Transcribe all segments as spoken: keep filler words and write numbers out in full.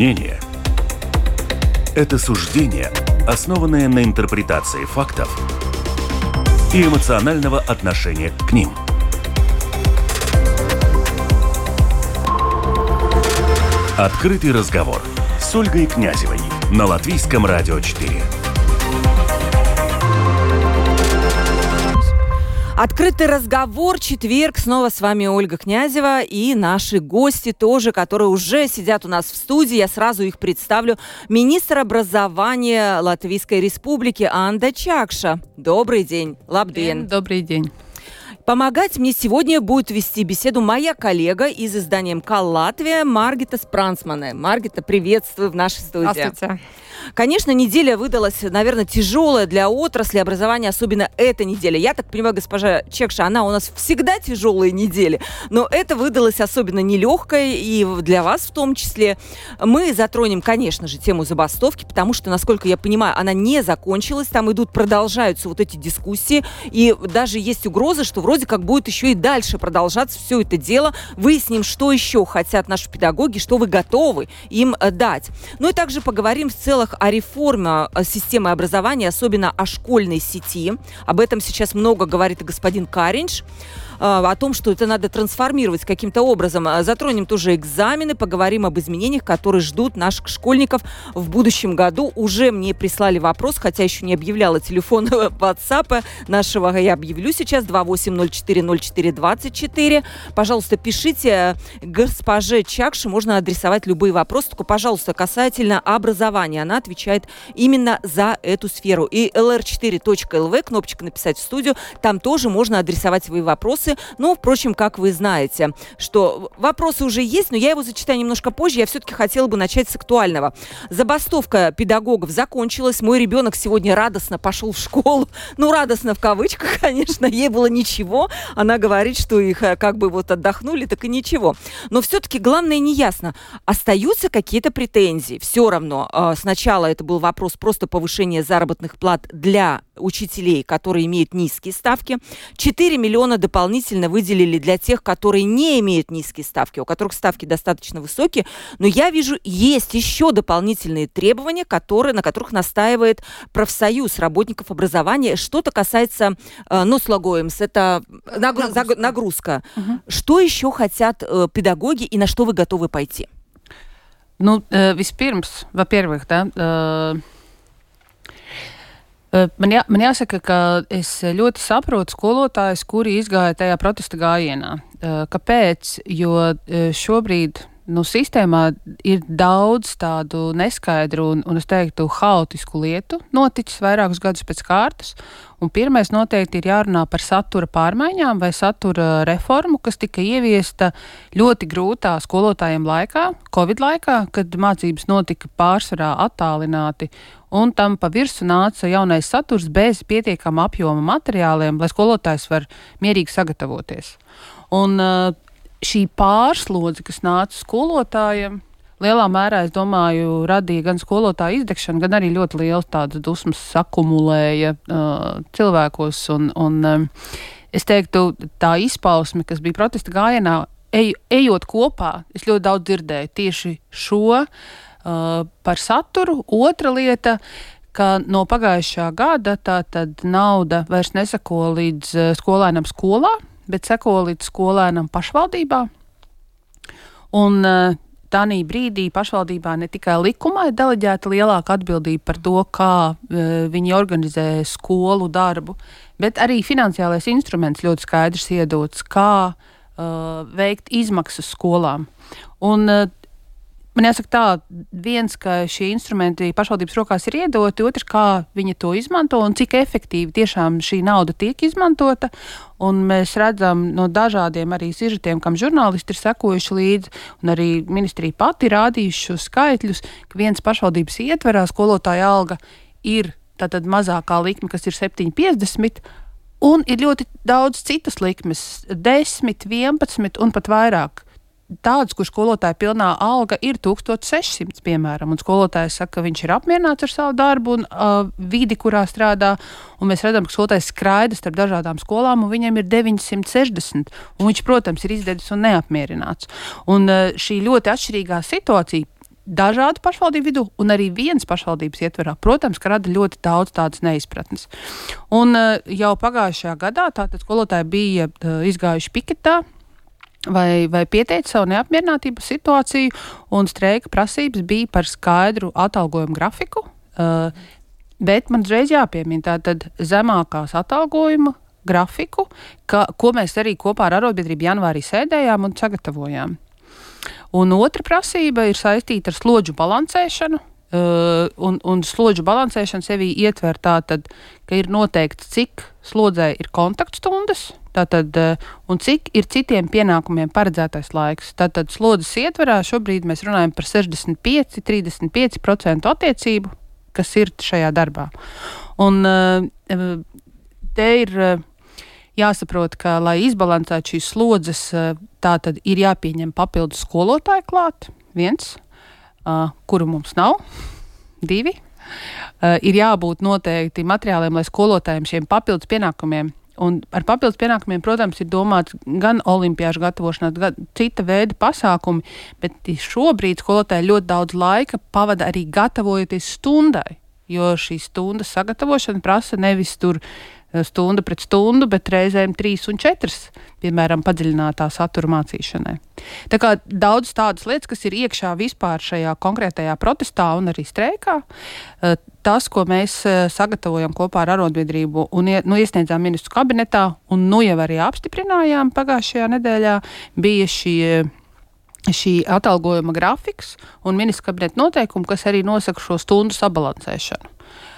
Мнение – это суждение, основанное на интерпретации фактов и эмоционального отношения к ним. Открытый разговор с Ольгой Князевой на Латвийском радио четыре. Открытый разговор, четверг. Снова с вами Ольга Князева и наши гости тоже, которые уже сидят у нас в студии. Я сразу их представлю. Министр образования Латвийской Республики Анда Чакша. Добрый день. Лабден. Добрый день. Помогать мне сегодня будет вести беседу моя коллега из издания МК «Латвия» Маргита Спрансмане. Маргита, приветствую в нашей студии. Здравствуйте. Конечно, неделя выдалась, наверное, тяжелая для отрасли образования, особенно эта неделя. Я так понимаю, госпожа Чакша, она у нас всегда тяжелые недели, но это выдалось особенно нелегкой, и для вас в том числе. Мы затронем, конечно же, тему забастовки, потому что, насколько я понимаю, она не закончилась, там идут, продолжаются вот эти дискуссии, и даже есть угроза, что вроде как будет еще и дальше продолжаться все это дело. Выясним, что еще хотят наши педагоги, что вы готовы им дать. Ну и также поговорим в целом о реформе системы образования, особенно о школьной сети. Об этом сейчас много говорит и господин Каринш. О том, что это надо трансформировать каким-то образом. Затронем тоже экзамены, поговорим об изменениях, которые ждут наших школьников в будущем году. Уже мне прислали вопрос, хотя еще не объявляла телефон WhatsApp нашего. Я объявлю сейчас два восемь ноль четыре ноль четыре двадцать четыре. Пожалуйста, пишите госпоже Чакше, можно адресовать любые вопросы, только, пожалуйста, касательно образования. Она отвечает именно за эту сферу. И эл эр четыре точка эл ви, кнопочка «Написать в студию», там тоже можно адресовать свои вопросы. Ну, впрочем, как вы знаете, что вопросы уже есть, но я его зачитаю немножко позже. Я все-таки хотела бы начать с актуального. Забастовка педагогов закончилась. Мой ребенок сегодня радостно пошел в школу. Ну, радостно в кавычках, конечно. Ей было ничего. Она говорит, что их как бы вот отдохнули, так и ничего. Но все-таки главное неясно. Остаются какие-то претензии. Все равно. Сначала это был вопрос просто повышения заработных плат для учителей, которые имеют низкие ставки. четыре миллиона дополнительно выделили для тех, которые не имеют низкие ставки, у которых ставки достаточно высокие. Но я вижу, есть еще дополнительные требования, которые, на которых настаивает профсоюз работников образования. Что-то касается э, нослогоемс, это нагрузка. нагрузка. нагрузка. Угу. Что еще хотят э, педагоги и на что вы готовы пойти? Ну, э, vispirms, во-первых, да, э, Man, jā, man jāsaka, ka es ļoti saprotu skolotājus, kuri izgāja tajā protesta gājienā. Kāpēc? Jo šobrīd nu, sistēmā ir daudz tādu neskaidru un, un es teiktu, haotisku lietu noticis vairākus gadus pēc kārtas. Un pirmais noteikti ir jārunā par satura pārmaiņām vai satura reformu, kas tika ieviesta ļoti grūtā skolotājiem laikā, Covid laikā, kad mācības notika pārsvarā attālināti. Un tam pa virsu nāca jaunais saturs bez pietiekama apjoma materiāliem, lai skolotājs var mierīgi sagatavoties. Un šī pārslodze, kas nāca skolotājiem, lielā mērā, es domāju, radīja gan skolotāju izdegšanu, gan arī ļoti liels tādas dusmas sakumulēja uh, cilvēkos. Un, un um, es teiktu, tā izpausme, kas bija protesta gājienā, ej, ejot kopā, es ļoti daudz dzirdēju tieši šo Uh, par saturu. Otra lieta, ka no pagājušā gada tā tad nauda vairs neseko līdz uh, skolēnam skolā, bet seko līdz skolēnam pašvaldībā. Un uh, tādī brīdī pašvaldībā ne tikai likumā ir deleģēta lielāka atbildība par to, kā uh, viņi organizē skolu darbu, bet arī finansiālais instruments ļoti skaidrs iedots, kā uh, veikt izmaksas skolām. Un uh, Man jāsaka tā, viens, ka šie instrumenti pašvaldības rokās ir iedoti, otrs, kā viņi to izmanto un cik efektīvi tiešām šī nauda tiek izmantota. Un mēs redzam no dažādiem arī sižetiem, kam žurnālisti ir sekojuši līdzi, un arī ministrija pati rādījuši šos skaitļus, ka viens pašvaldības ietverā skolotāja alga ir tātad mazākā likme, kas ir septiņi piecdesmit, un ir ļoti daudz citas likmes, desmit, vienpadsmit un pat vairāk. Tāds, kur skolotāja pilnā alga ir tūkstoš sešsimts, piemēram, un skolotājs saka, ka viņš ir apmierināts ar savu darbu un uh, vidi, kurā strādā, un mēs redzam, ka skolotājs skraida starp dažādām skolām, un viņam ir deviņsimt sešdesmit, un viņš, protams, ir izdedzis un neapmierināts. Un uh, šī ļoti atšķirīgā situācija, dažādu pašvaldību vidū un arī vienas pašvaldības ietverā, protams, ka rada ļoti daudz tādas neizpratnes. Un uh, jau pagājušajā gadā tātad skolotāji bija uh, izgājuši piketā vai, vai pieteica savu neapmierinātību situāciju, un streika prasības bija par skaidru atalgojumu grafiku, uh, bet man uzreiz jāpiemina tātad zemākās atalgojuma grafiku, ka, ko mēs arī kopā ar arotbiedrību janvārī sēdējām un sagatavojām. Un otra prasība ir saistīta ar slodžu balansēšanu, uh, un, un slodžu balansēšana sevī ietver tātad, ka ir noteikts, cik slodzē ir kontaktstundas, tātad, uh, un cik ir citiem pienākumiem paredzētais laiks. Tātad slodzes ietverā šobrīd mēs runājam par sešdesmit pieci līdz trīsdesmit pieci procenti attiecību, kas ir šajā darbā. Un uh, te ir... Uh, Jāsaprot, ka, lai izbalansētu šīs slodzes, tā tad ir jāpieņem papildus skolotāju klāt, viens, uh, kuru mums nav, divi. Uh, ir jābūt noteikti materiāliem, lai skolotājiem šiem papildus pienākumiem, un ar papildus pienākumiem, protams, ir domāts gan olimpiāžu gatavošanās, gan cita veida pasākumi, bet šobrīd skolotāji ļoti daudz laika pavada arī gatavojoties stundai, jo šī stundas sagatavošana prasa nevis tur stunda pret stundu, bet reizēm trīs un četras, piemēram, padziļinātā satura mācīšanai. Tā kā daudz tādas lietas, kas ir iekšā vispār šajā konkrētajā protestā un arī streikā, tas, ko mēs sagatavojam kopā ar arotbiedrību un nu, iesniedzām ministru kabinetā un nu jau arī apstiprinājām pagājušajā nedēļā, bija šie šī atalgojuma grafiks un ministru kabineta noteikumi, kas arī nosaka šo stundu sabalansēšanu.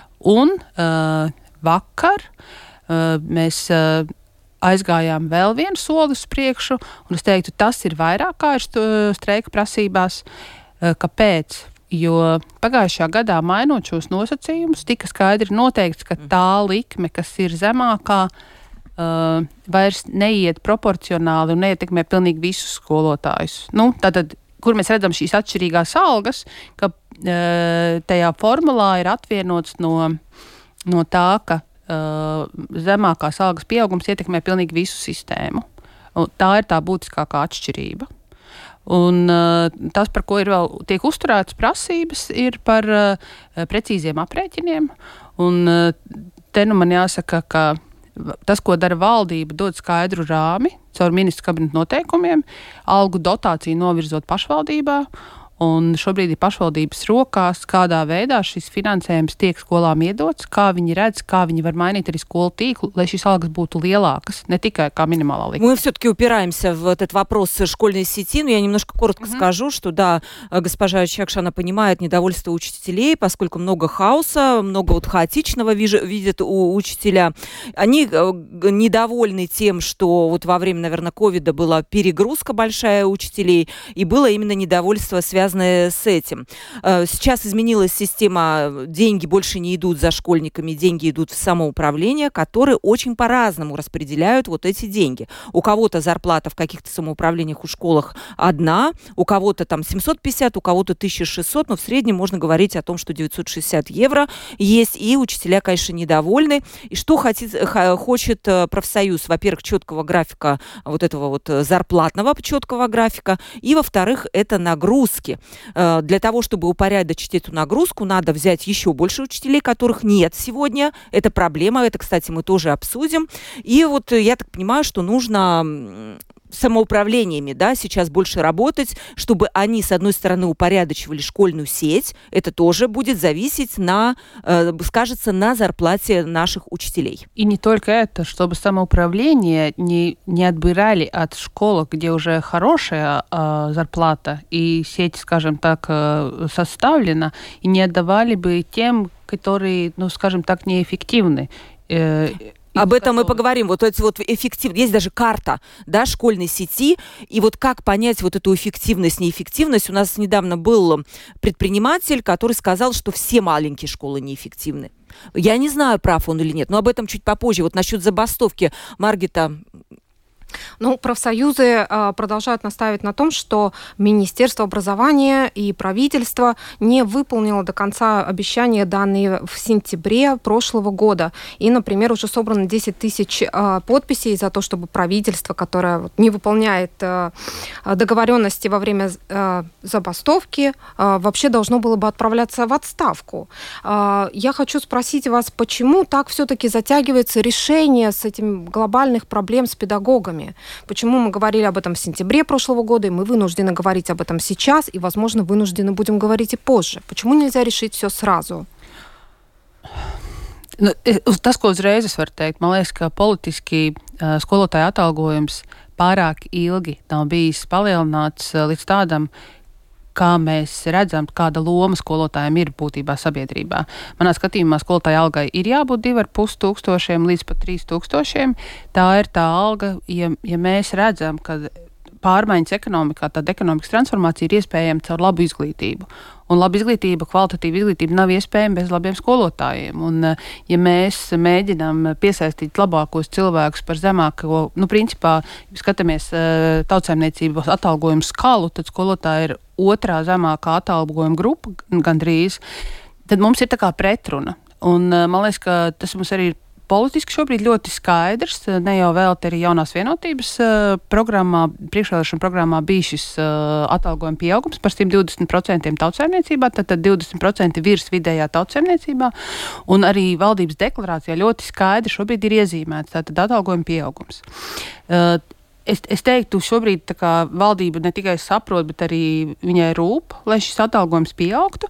Un uh, vakar Uh, mēs uh, aizgājām vēl vienu soli uz priekšu, un es teiktu, tas ir vairāk kā ir streika prasībās. Uh, kāpēc? Jo pagājušajā gadā mainot šos nosacījumus, tika skaidri noteikts, ka tā likme, kas ir zemākā, uh, vairs neiet proporcionāli un neietekmē pilnīgi visus skolotājus. Nu, tātad, kur mēs redzam šīs atšķirīgās algas, ka uh, tajā formulā ir atvienots no, no tā, ka Uh, zemākās algas pieaugums ietekmē pilnīgi visu sistēmu. Un tā ir tā būtiskākā atšķirība. Un uh, tas, par ko ir vēl tiek uzturētas prasības, ir par uh, precīziem aprēķiniem. Un uh, te nu man jāsaka, ka tas, ko dara valdība, dod skaidru rāmi caur ministru kabineta noteikumiem, algu dotāciju novirzot pašvaldībā. Un šobrīd ir pašvaldības rokās, kādā veidā šis finansējums tiek skolām iedots, kā viņi redz, kā viņi var mainīt arī skolu tīklu, lai šīs algas būtu lielākas, не только как минимальная ликвидация. Мы все-таки упираемся в этот вопрос школьной сети, но я немножко коротко mm-hmm. скажу, что да, госпожа Чекша, она понимает недовольство учителей, поскольку много хаоса, много вот хаотичного видят у учителя. Они недовольны тем, что вот во время, наверное, ковида была перегрузка большая учителей, и было именно недовольство, связанное с этим. Сейчас изменилась система, деньги больше не идут за школьниками, деньги идут в самоуправление, которые очень по-разному распределяют вот эти деньги. У кого-то зарплата в каких-то самоуправлениях, у школах одна, у кого-то там семьсот пятьдесят, у кого-то тысяча шестьсот, но в среднем можно говорить о том, что девятьсот шестьдесят евро есть, и учителя, конечно, недовольны. И что хочет, хочет профсоюз? Во-первых, четкого графика, вот этого вот зарплатного четкого графика, и, во-вторых, это нагрузки. Для того, чтобы упорядочить эту нагрузку, надо взять еще больше учителей, которых нет сегодня. Это проблема, это, кстати, мы тоже обсудим. И вот я так понимаю, что нужно самоуправлениями, да, сейчас больше работать, чтобы они, с одной стороны, упорядочивали школьную сеть. Это тоже будет зависеть на, э, скажется, на зарплате наших учителей. И не только это, чтобы самоуправление не, не отбирали от школ, где уже хорошая э, зарплата и сеть, скажем так, э, составлена, и не отдавали бы тем, которые, ну, скажем так, неэффективны. Э, Об этом мы поговорим. Вот эти вот эффективность. Есть даже карта, да, школьной сети. И вот как понять вот эту эффективность, неэффективность. У нас недавно был предприниматель, который сказал, что все маленькие школы неэффективны. Я не знаю, прав он или нет, но об этом чуть попозже. Вот насчет забастовки Маргита Ну, профсоюзы э, продолжают настаивать на том, что Министерство образования и правительство не выполнило до конца обещания, данные в сентябре прошлого года. И, например, уже собрано десять тысяч э, подписей за то, чтобы правительство, которое вот, не выполняет э, договоренности во время э, забастовки, э, вообще должно было бы отправляться в отставку. Э, я хочу спросить вас, почему так все-таки затягивается решение с этим глобальных проблем с педагогами? Почему мы говорили об этом в сентябре прошлого года, и мы вынуждены говорить об этом сейчас, и, возможно, вынуждены будем говорить и позже? Почему нельзя решить все сразу? Nu, tas, ko uzreiz es varu teikt, man liekas, ka politiski uh, skolotāja atalgojums pārāk ilgi nav bijis palielināts uh, līdz tādam, kā mēs redzam, kāda loma skolotājiem ir būtībā sabiedrībā. Manā skatījumā skolotāja algai ir jābūt divi ar pus tūkstošiem līdz pat trīs tūkstošiem. Tā ir tā alga, ja, ja mēs redzam, ka pārmaiņas ekonomikā, tāda ekonomikas transformācija ir iespējama caur labu izglītību. Un laba izglītība, kvalitatīva izglītība nav iespējama bez labiem skolotājiem. Un, ja mēs mēģinām piesaistīt labākos cilvēkus par zemāko, nu, principā, ja skatāmies tautsaimniecības atalgojumu skalu, tad skolotāji ir otrā zemākā atalgojuma grupa gandrīz, tad mums ir tā kā pretruna. Un man liekas, ka tas mums arī ir politiski šobrīd ļoti skaidrs. Ne jau vēl te arī jaunās vienotības uh, programmā, priekšvēlēšana programmā bija šis uh, atalgojuma pieaugums par simt divdesmit procentiem tautsaimniecībā, tad, tad divdesmit procenti virs vidējā tautsaimniecībā, un arī valdības deklarācijā ļoti skaidri šobrīd ir iezīmēts tātad atalgojuma pieaugums. Uh, Es, es teiktu, šobrīd tā kā valdība ne tikai saprot, bet arī viņai rūp, lai šis atalgojums pieaugtu.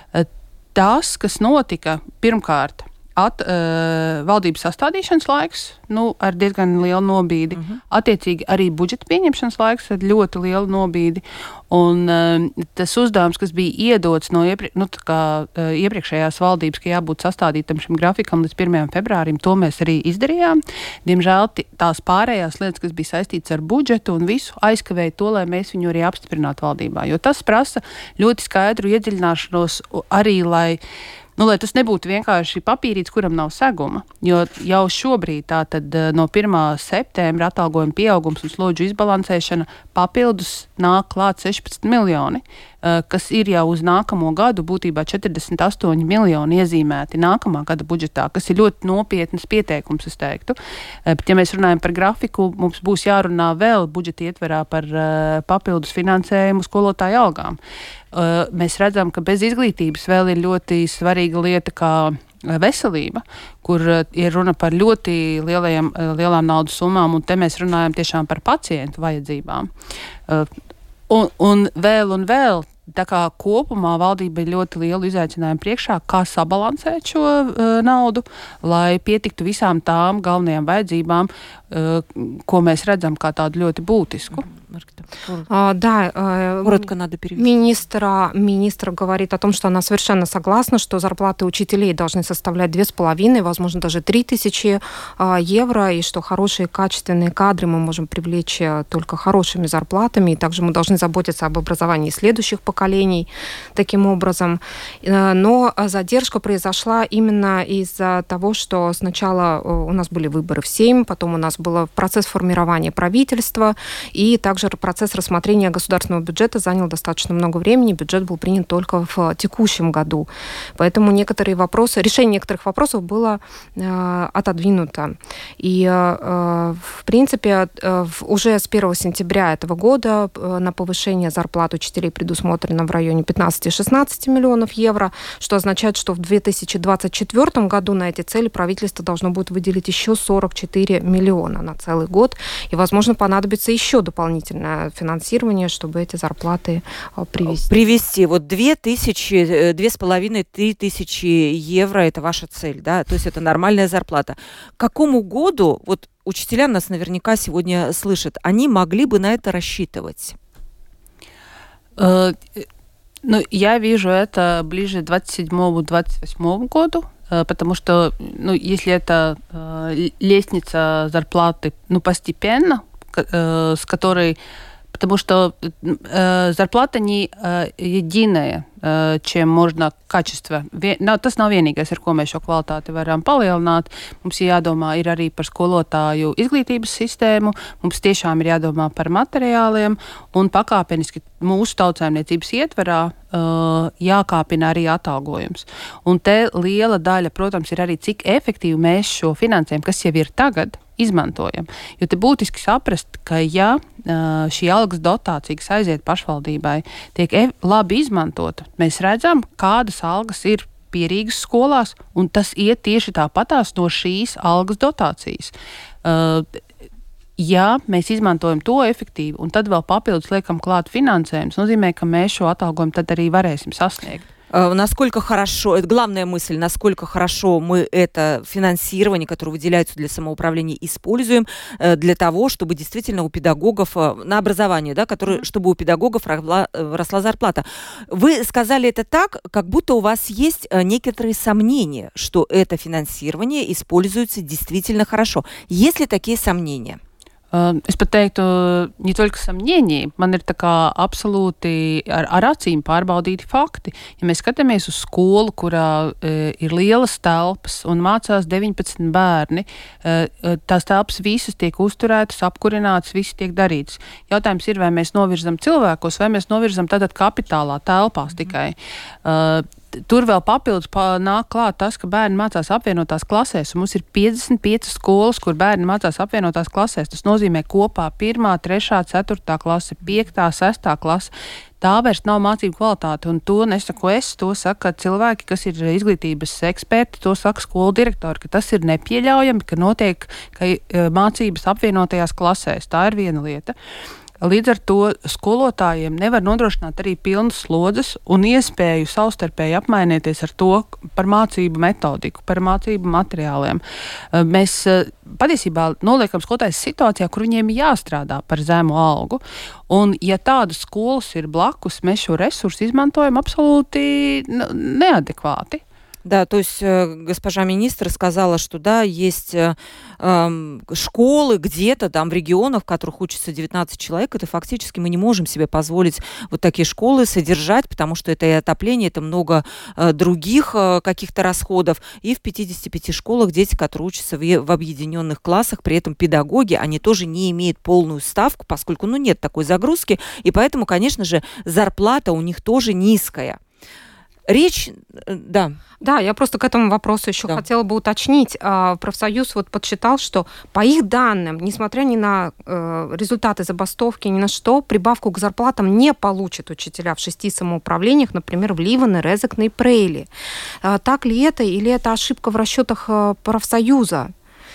Tas, kas notika pirmkārt, At, uh, valdības sastādīšanas laiks, nu, ar diezgan lielu nobīdi. Uh-huh. Attiecīgi arī budžeta pieņemšanas laiks ar ļoti lielu nobīdi. Un uh, tas uzdevums, kas bija iedots no iepri- nu, kā, uh, iepriekšējās valdības, ka jābūt sastādītam šim grafikam līdz pirmajam februārim, to mēs arī izdarījām. Diemžēl t- tās pārējās lietas, kas bija saistītas ar budžetu un visu, aizkavēja to, lai mēs viņu arī apstiprinātu valdībā. Jo tas prasa ļoti skaidru iedziļināšanos arī, lai Nu, lai tas nebūtu vienkārši papīrīts, kuram nav seguma, jo jau šobrīd tātad no pirmā septembra atalgojuma pieaugums un slodžu izbalansēšana papildus nāk klāt sešpadsmit miljoni, kas ir jau uz nākamo gadu būtībā četrdesmit astoņi miljoni iezīmēti nākamā gada budžetā, kas ir ļoti nopietnas pieteikums, es teiktu. Bet, ja mēs runājam par grafiku, mums būs jārunā vēl budžeta ietverā par papildus finansējumu skolotāju algām. Mēs redzam, ka bez izglītības vēl ir ļoti svarīga lieta kā veselība, kur ir runa par ļoti lielajiem, lielām naudas summām, un te mēs runājam tiešām par pacientu vajadzībām. Un, un vēl un vēl, tā kā kopumā valdība ir ļoti lielu izaicinājumu priekšā, kā sabalansēt šo uh, naudu, lai pietiktu visām tām galvenajām vajadzībām, uh, ko mēs redzam kā tādu ļoti būtisku. А, да, коротко надо перевести. Министра, министр говорит о том, что она совершенно согласна, что зарплаты учителей должны составлять две с половиной, возможно, даже три тысячи евро, и что хорошие качественные кадры мы можем привлечь только хорошими зарплатами, и также мы должны заботиться об образовании следующих поколений таким образом. Но задержка произошла именно из-за того, что сначала у нас были выборы в Сейм, потом у нас был процесс формирования правительства, и также процесс рассмотрения государственного бюджета занял достаточно много времени. Бюджет был принят только в текущем году. Поэтому некоторые вопросы, решение некоторых вопросов было э, отодвинуто. И, э, в принципе, э, уже с первого сентября этого года э, на повышение зарплат учителей предусмотрено в районе пятнадцать-шестнадцать миллионов евро, что означает, что в две тысячи двадцать четвёртом году на эти цели правительство должно будет выделить еще сорок четыре миллиона на целый год. И, возможно, понадобится еще дополнительное финансирование, чтобы эти зарплаты привести. Привести. Вот две тысячи, две с половиной, три тысячи евро – это ваша цель, да? То есть это нормальная зарплата. К какому году, вот учителя нас наверняка сегодня слышат, они могли бы на это рассчитывать? Uh, ну, я вижу это ближе к двадцать седьмому - двадцать восьмому году, потому что, ну, если это uh, лестница зарплаты, ну, постепенно, с которой Потому что э, зарплата не э, единая, э, чем можно качество. Vien, nav, tas nav vienīgais, ar ko mēs šo kvalitāti varam palielināt. Mums ir jādomā ir arī par skolotāju izglītības sistēmu, mums tiešām ir jādomā par materiāliem un pakāpeniski mūsu tautsājumniecības ietverā uh, jākāpina arī atalgojums. Un te liela daļa, protams, ir arī cik efektīvi mēs šo finansējumu, kas jau ir tagad, izmantojam. Jo te būtiski saprast, ka ja uh, šī algas dotācija, kas aiziet pašvaldībai, tiek e- labi izmantota, mēs redzam, kādas algas ir pierīgas skolās, un tas iet tieši tāpatās no šīs algas dotācijas. Uh, ja mēs izmantojam to efektīvi, un tad vēl papildus liekam klāt finansējums, nozīmē, ka mēs šo atalgojumu tad arī varēsim sasniegt. Насколько хорошо, это главная мысль, насколько хорошо мы это финансирование, которое выделяется для самоуправления, используем для того, чтобы действительно у педагогов на образование, да, который, чтобы у педагогов росла, росла зарплата. Вы сказали это так, как будто у вас есть некоторые сомнения, что это финансирование используется действительно хорошо. Есть ли такие сомнения? Es pat teiktu, не только сомнения, man ir tā kā absolūti ar, ar acīm pārbaudīti fakti. Ja mēs skatāmies uz skolu, kurā e, ir lielas telpas un mācās deviņpadsmit bērni, e, tās telpas visas tiek uzturētas, apkurinātas, viss tiek darīts. Jautājums ir, vai mēs novirzam cilvēkos, vai mēs novirzam tātad kapitālā telpās tikai. E, Tur vēl papildus nāk klāt tas, ka bērni mācās apvienotās klasēs, un mums ir piecdesmit piecas skolas, kur bērni mācās apvienotās klasēs. Tas nozīmē kopā pirmā, trešā, ceturtā klase, piektā, sestā klase. Tā vairs nav mācību kvalitāte, un to nesaku es, to saka cilvēki, kas ir izglītības eksperti, to saka skolu direktori, ka tas ir nepieļaujami, ka notiek ka, mācības apvienotajās klasēs. Tā ir viena lieta. Līdz ar to skolotājiem nevar nodrošināt arī pilnas slodzes un iespēju savstarpēji apmainīties ar to par mācību metodiku, par mācību materiāliem. Mēs patiesībā noliekam skolotājus situācijā, kur viņiem ir jāstrādā par zemu algu. Un ja tādas skolas ir blakus, mēs šo resursu izmantojam absolūti neadekvāti. Да, то есть э, госпожа министр сказала, что да, есть э, э, школы где-то там в регионах, в которых учатся девятнадцать человек, это фактически мы не можем себе позволить вот такие школы содержать, потому что это и отопление, это много э, других э, каких-то расходов. И в пятидесяти пяти школах дети, которые учатся в, в объединенных классах, при этом педагоги, они тоже не имеют полную ставку, поскольку ну, нет такой загрузки, и поэтому, конечно же, зарплата у них тоже низкая. Речь, да. Да, я просто к этому вопросу еще да. хотела бы уточнить. Профсоюз вот подсчитал, что по их данным, несмотря ни на результаты забастовки, ни на что, прибавку к зарплатам не получат учителя в шести самоуправлениях, например, в Ливане, Резекне и Прейли. Так ли это или это ошибка в расчетах профсоюза?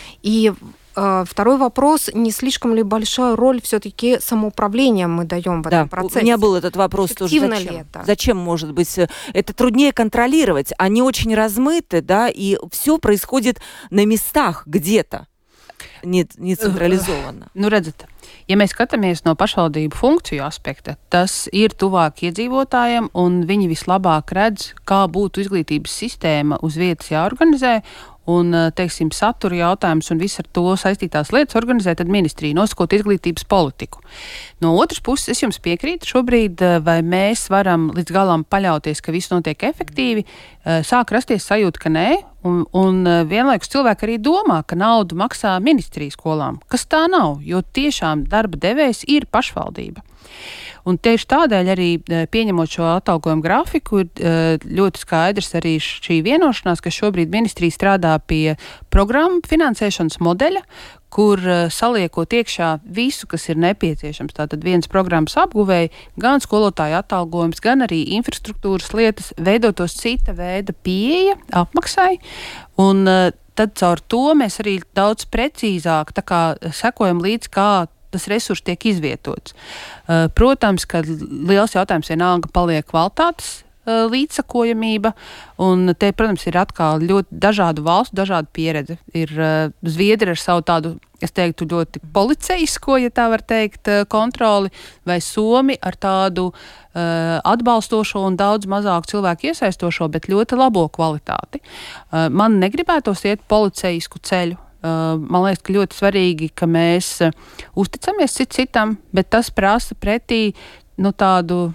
И второй вопрос, не слишком ли большая роль все-таки самоуправления мы даем в этом да, процессе? У меня был этот вопрос тоже. Зачем? Ли это? Зачем, может быть, это труднее контролировать? Они очень размыты, да, и все происходит на местах где-то, не, не централизованно. Nu, redzat, ja mēs skatāmies no pašvaldību funkciju aspekta, tas ir tuvāk iedzīvotājiem, un viņi vislabāk redz, kā būtu izglītības sistēma uz vietas jāorganizē, un, teiksim, satura jautājums un viss ar to saistītās lietas organizē tad ministrija, nosakot izglītības politiku. No otras puses, es jums piekrītu šobrīd, vai mēs varam līdz galam paļauties, ka viss notiek efektīvi, sāk rasties sajūta, ka nē, un, un vienlaikus cilvēki arī domā, ka naudu maksā ministrija skolām, kas tā nav, jo tiešām darba devējs ir pašvaldība. Un tieši tādēļ arī pieņemot šo atalgojumu grafiku ir ļoti skaidrs arī šī vienošanās, ka šobrīd ministrija strādā pie programmu finansēšanas modeļa, kur saliekot iekšā visu, kas ir nepieciešams. Tātad viens programmas apguvēja, gan skolotāju atalgojums, gan arī infrastruktūras lietas, veidotos cita veida pieeja apmaksai. Un tad caur to mēs arī daudz precīzāk tā kā sekojam līdz, kā tas resurs tiek izvietots. Protams, ka liels jautājums vienalga paliek kvalitātes līdzsakojamība, un te, protams, ir atkal ļoti dažādu valstu, dažādu pieredzi. Ir Zviedri ar savu tādu, es teiktu, ļoti policejisko, ja tā var teikt, kontroli, vai Somi ar tādu uh, atbalstošo un daudz mazāku cilvēku iesaistošo, bet ļoti labo kvalitāti. Uh, man negribētos iet policejisku ceļu. Man liekas, ka ļoti svarīgi, ka mēs uzticamies cit citam, bet tas prasa pretī nu, tādu,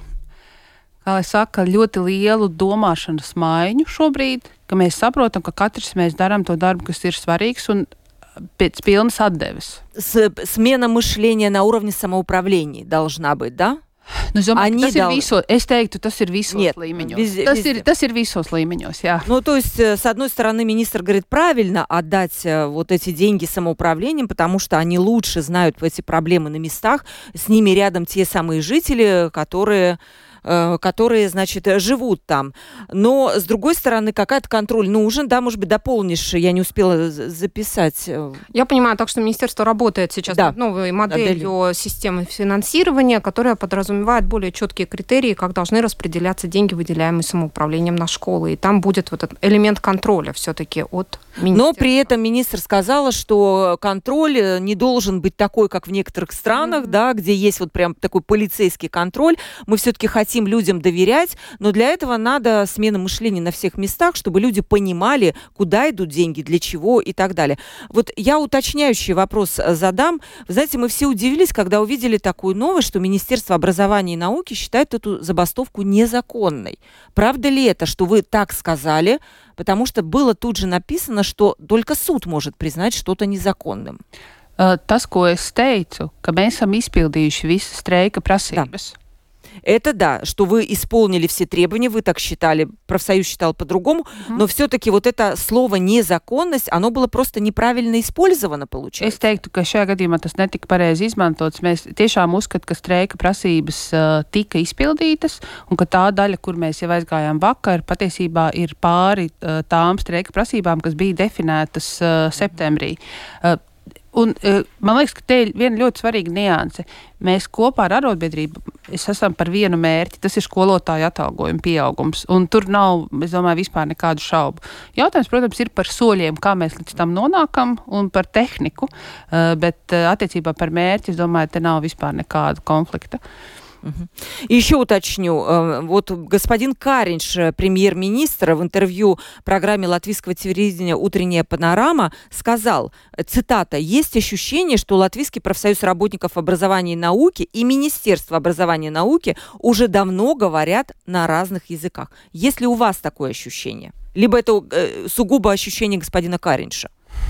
kā lai saka, ļoti lielu domāšanas maiņu šobrīd, ka mēs saprotam, ka katrs mēs darām to darbu, kas ir svarīgs un pēc pilnas atdeves. Смена мышления на уровне самоуправления должна быть, да? Nu, es, domāju, tas дал... ir viso, es teiktu, tas ir visos Нет, līmeņos. Везде, tas, везде. ir, tas ir visos līmeņos, jā. Ну, то есть, с одной стороны, министр говорит, правильно отдать вот эти деньги самоуправлениям, потому что они лучше знают эти проблемы на местах, с ними рядом те самые жители, которые... которые, значит, живут там. Но, с другой стороны, какой-то контроль нужен, да, может быть, дополнишь, я не успела записать. Я понимаю, так что министерство работает сейчас да. над новой моделью Модель. системы финансирования, которая подразумевает более четкие критерии, как должны распределяться деньги, выделяемые самоуправлением на школы. И там будет вот этот элемент контроля все-таки от министерства. Но при этом министр сказала, что контроль не должен быть такой, как в некоторых странах, mm-hmm. да, где есть вот прям такой полицейский контроль. Мы все-таки хотим людям доверять, но для этого надо смена мышления на всех местах, чтобы люди понимали, куда идут деньги, для чего и так далее. Вот я уточняющий вопрос задам. Вы знаете, мы все удивились, когда увидели такую новость, что Министерство образования и науки считает эту забастовку незаконной. Правда ли это, что вы так сказали? Потому что было тут же написано, что только суд может признать что-то незаконным. Tas, ko es teicu, ka mēs esam izpildījuši visas streika prasības. Это да, что вы исполнили все требования, вы так считали, профсоюз считал по-другому, mm-hmm. но все-таки вот это слово «незаконность», оно было просто неправильно использовано, получается. Es teiktu, ka šajā gadījumā tas netika pareizi izmantots. Mēs tiešām uzskatām, ka streika prasības uh, tika izpildītas, un ka tā daļa, kur mēs jau aizgājām vakar, patiesībā ir pāri uh, tām streika prasībām, kas bija definētas uh, septembrī. Uh, Un, man liekas, ka te ir viena ļoti svarīga nianse. Mēs kopā ar arotbiedrību esam par vienu mērķi, tas ir skolotāju atalgojuma pieaugums. Un tur nav, es domāju, vispār nekādu šaubu. Jautājums, protams, ir par soļiem, kā mēs līdz tam nonākam, un par tehniku, bet attiecībā par mērķi, es domāju, te nav vispār nekāda konflikta. И еще уточню, вот господин Каринш, премьер-министр, в интервью программе латвийского телевидения «Утренняя панорама» сказал, цитата, «Есть ощущение, что Латвийский профсоюз работников образования и науки и Министерство образования и науки уже давно говорят на разных языках». Есть ли у вас такое ощущение? Либо это сугубо ощущение господина Каринша?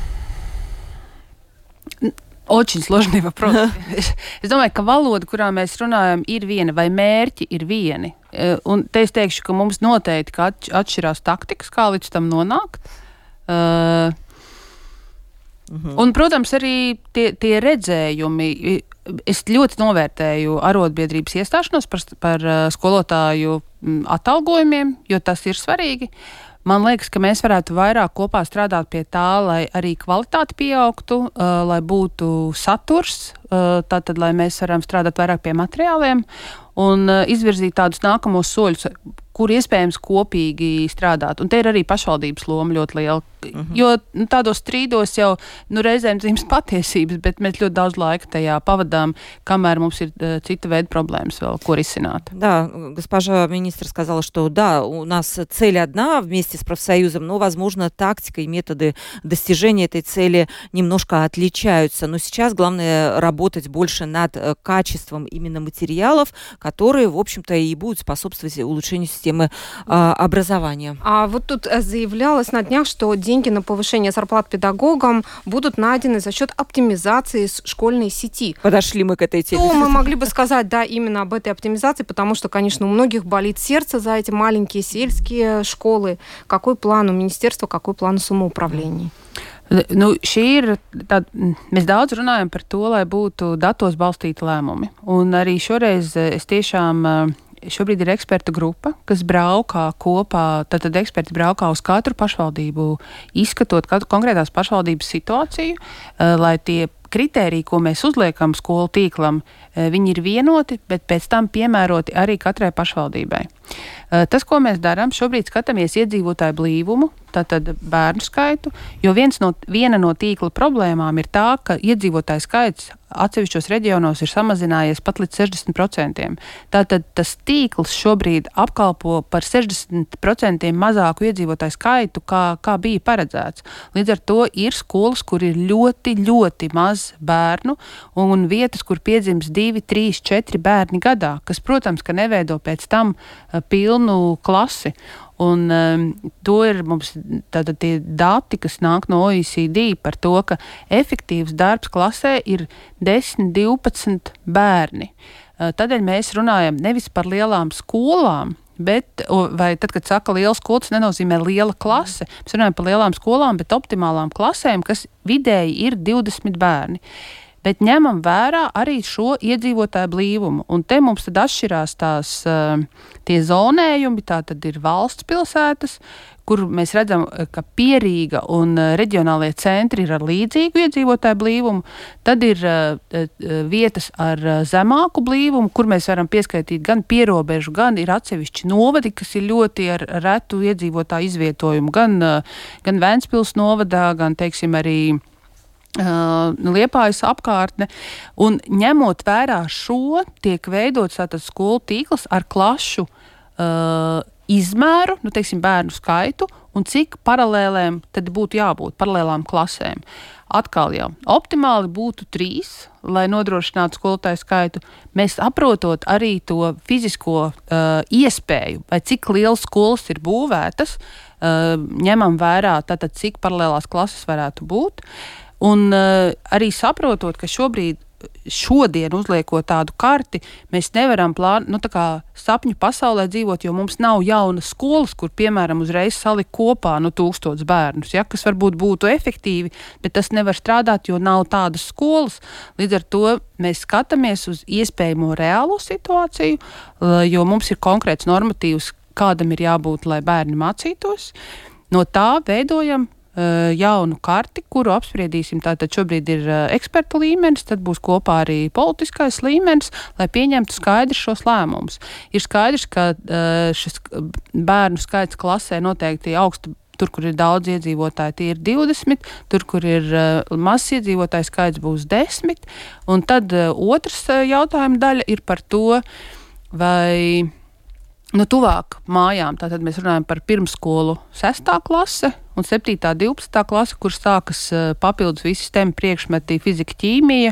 Очень сложный вопрос. Es domāju, ka valoda, kurā mēs runājam, ir viena, vai mērķi ir vieni. Un te es teikšu, ka mums noteikti atšķirās taktikas, kā līdz tam nonākt. Uh, mhm. Un, protams, arī tie, tie redzējumi. Es ļoti novērtēju arotbiedrības iestāšanos par, par skolotāju atalgojumiem, jo tas ir svarīgi. Man liekas, ka mēs varētu vairāk kopā strādāt pie tā, lai arī kvalitāte pieaugtu, uh, lai būtu saturs, uh, tātad, lai mēs varam strādāt vairāk pie materiāliem un uh, izvirzīt tādus nākamos soļus, kur iespējams kopīgi strādāt. Un te ir arī pašvaldības loma ļoti liela. Mm-hmm. Jo nu, tādos strīdos jau nu, reizēm dzimst patiesības, bet mēs ļoti daudz laika tajā pavadām, kamēr mums ir uh, cita veida проблемы vēl, ko risināt. Да, госпожа министр сказала, что да, у нас цель одна вместе с профсоюзом, но, возможно, тактика и методы достижения этой цели немножко отличаются. Но сейчас главное работать больше над качеством именно материалов, которые, в общем-то, и будут способствовать улучшению системы а, образования. А вот тут заявлялось на днях, что деньги на повышение зарплат педагогам будут найдены за счет оптимизации школьной сети. Подошли мы к этой теме. Что мы могли бы сказать, да, именно об этой оптимизации, потому что, конечно, у многих болит сердце за эти маленькие сельские школы. Какой план у министерства, какой план у самоуправления? Nu, šī ir tāda, mēs daudz runājam par to, lai būtu datos balstīti lēmumi. Un arī šoreiz es tiešām, šobrīd ir ekspertu grupa, kas braukā kopā, tātad eksperti braukā uz katru pašvaldību, izskatot katru konkrētās pašvaldības situāciju, lai tie kritēriji, ko mēs uzliekam skolu tīklam, viņi ir vienoti, bet pēc tam piemēroti arī katrai pašvaldībai. Tas, ko mēs darām, šobrīd skatāmies iedzīvotāju blīvumu tātad bērnu skaitu, jo viens no, viena no tīkla problēmām ir tā, ka iedzīvotāju skaits atsevišķos reģionos ir samazinājies pat līdz sešdesmit procentiem. Tātad tas tīkls šobrīd apkalpo par sešdesmit procentiem mazāku iedzīvotāju skaitu, kā, kā bija paredzēts. Līdz ar to ir skolas, kur ir ļoti, ļoti maz bērnu un vietas, kur piedzims divi, trīs, četri bērni gadā, kas, protams, ka neveido pēc tam uh, pilnu klasi. Un um, to ir mums tātad tie dati, kas nāk no O E C D par to, ka efektīvs darbs klasē ir desmit, divpadsmit bērni. Uh, tādēļ mēs runājam nevis par lielām skolām, bet, vai tad, kad saka liela skola, tas nenozīmē liela klase. Mēs runājam par lielām skolām, bet optimālām klasēm, kas vidēji ir divdesmit bērni. Bet ņemam vērā arī šo iedzīvotāju blīvumu. Un te mums tad atšķirās tās, tie zonējumi, tā tad ir valsts pilsētas, kur mēs redzam, ka Pierīga un reģionālie centri ir ar līdzīgu iedzīvotāju blīvumu. Tad ir vietas ar zemāku blīvumu, kur mēs varam pieskaitīt gan pierobežu, gan ir atsevišķi novadi, kas ir ļoti ar retu iedzīvotāju izvietojumu. Gan, gan Ventspils novadā, gan, teiksim, arī Uh, Liepājas apkārtne, un ņemot vērā šo, tiek veidots tātad skolu tīkls ar klašu uh, izmēru, nu, teiksim, bērnu skaitu, un cik paralēlēm tad būtu jābūt, paralēlām klasēm. Atkal jau, optimāli būtu trīs, lai nodrošinātu skolotāju skaitu. Mēs saprotot arī to fizisko uh, iespēju, vai cik liels skolas ir būvētas, uh, ņemam vērā tātad, cik paralēlās klases varētu būt. Un uh, arī saprotot, ka šobrīd, šodien uzliekot tādu karti, mēs nevaram plānot, nu tā kā sapņu pasaulē dzīvot, jo mums nav jaunas skolas, kur, piemēram, uzreiz salikt kopā nu tūkstots bērnus, ja, kas varbūt būtu efektīvi, bet tas nevar strādāt, jo nav tādas skolas. Līdz ar to mēs skatāmies uz iespējamo reālo situāciju, jo mums ir konkrēts normatīvs, kādam ir jābūt, lai bērni mācītos. No tā veidojam jaunu karti, kuru apspriedīsim. Tātad šobrīd ir ekspertu līmenis, tad būs kopā arī politiskais līmenis, lai pieņemtu skaidrs šos lēmumus. Ir skaidrs, ka šis bērnu skaits klasē noteikti augstu. Tur, kur ir daudz iedzīvotāji, tie ir divdesmit, tur, kur ir uh, mazs iedzīvotāju skaits, būs desmit. Un tad uh, otrs uh, jautājuma daļa ir par to, vai nu, tuvāk mājām, tātad mēs runājam par pirmskolu sestā klase un septītā, divpadsmitā klase, kur sākas uh, papildus visi STEM priekšmeti, fizika, ķīmija,